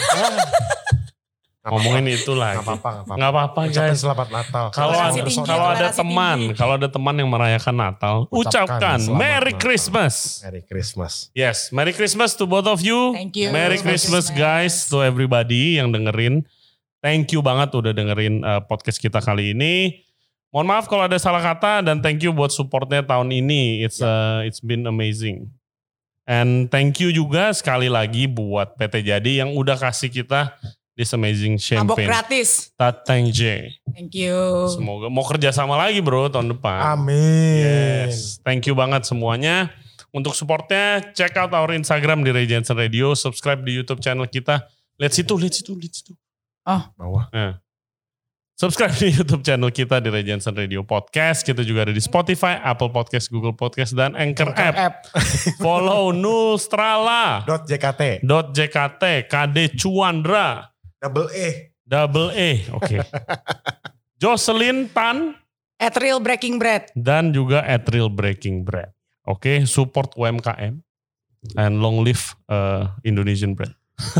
A: Ngomongin itu lagi.
D: Gak apa-apa, gak apa-apa.
A: Nggak apa-apa
D: Ucapin
A: guys.
D: selamat Natal.
A: Kalau
C: Toleransi
A: ada,
C: tinggi,
A: kalau ada
C: toleransi
A: teman,
C: tinggi.
A: kalau ada teman yang merayakan Natal,
D: Ucapkan
A: ucapkan
D: selamat
A: Merry
D: Natal.
A: Christmas.
D: Merry Christmas.
A: Yes, Merry Christmas to both of you.
C: Thank you.
A: Merry
C: Merry
A: Christmas
C: Christmas.
A: guys to everybody yang dengerin. Thank you banget udah dengerin uh, podcast kita kali ini. Mohon maaf kalau ada salah kata dan thank you buat supportnya tahun ini. It's uh, it's been amazing. And thank you juga sekali lagi buat P T Jadi yang udah kasih kita this amazing
C: Mabok
A: champagne.
C: gratis.
A: Tatang J.
C: Thank you.
A: Semoga mau kerja sama lagi bro tahun depan.
D: Amin.
A: Yes, thank you banget semuanya. Untuk supportnya, check out our Instagram di Ray Jensen Radio, subscribe di YouTube channel kita. Lihat situ, lihat situ, lihat situ.
D: Bawah.
A: Nah. Subscribe di YouTube channel kita di Ray Jensen Radio Podcast. Kita juga ada di Spotify, Apple Podcast, Google Podcast, dan Anchor, App.
D: App.
A: Follow Nul Strala.
D: Dot J K T.
A: Dot J K T, K D Cuandra,
D: Double E.
A: double E, oke. Jocelyn Tan,
C: At Real Breaking Bread.
A: dan juga at Real Breaking Bread. Oke, support U M K M and long live uh, Indonesian bread.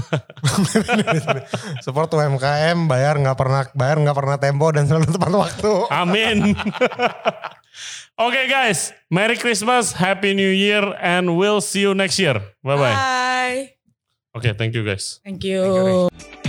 D: Support U M K M, bayar nggak pernah bayar nggak pernah tempo dan selalu tepat waktu.
A: Amin. Oke guys, Merry Christmas, Happy New Year, and we'll see you next year. Bye bye.
C: Bye.
A: Oke, thank you guys.
C: Thank you.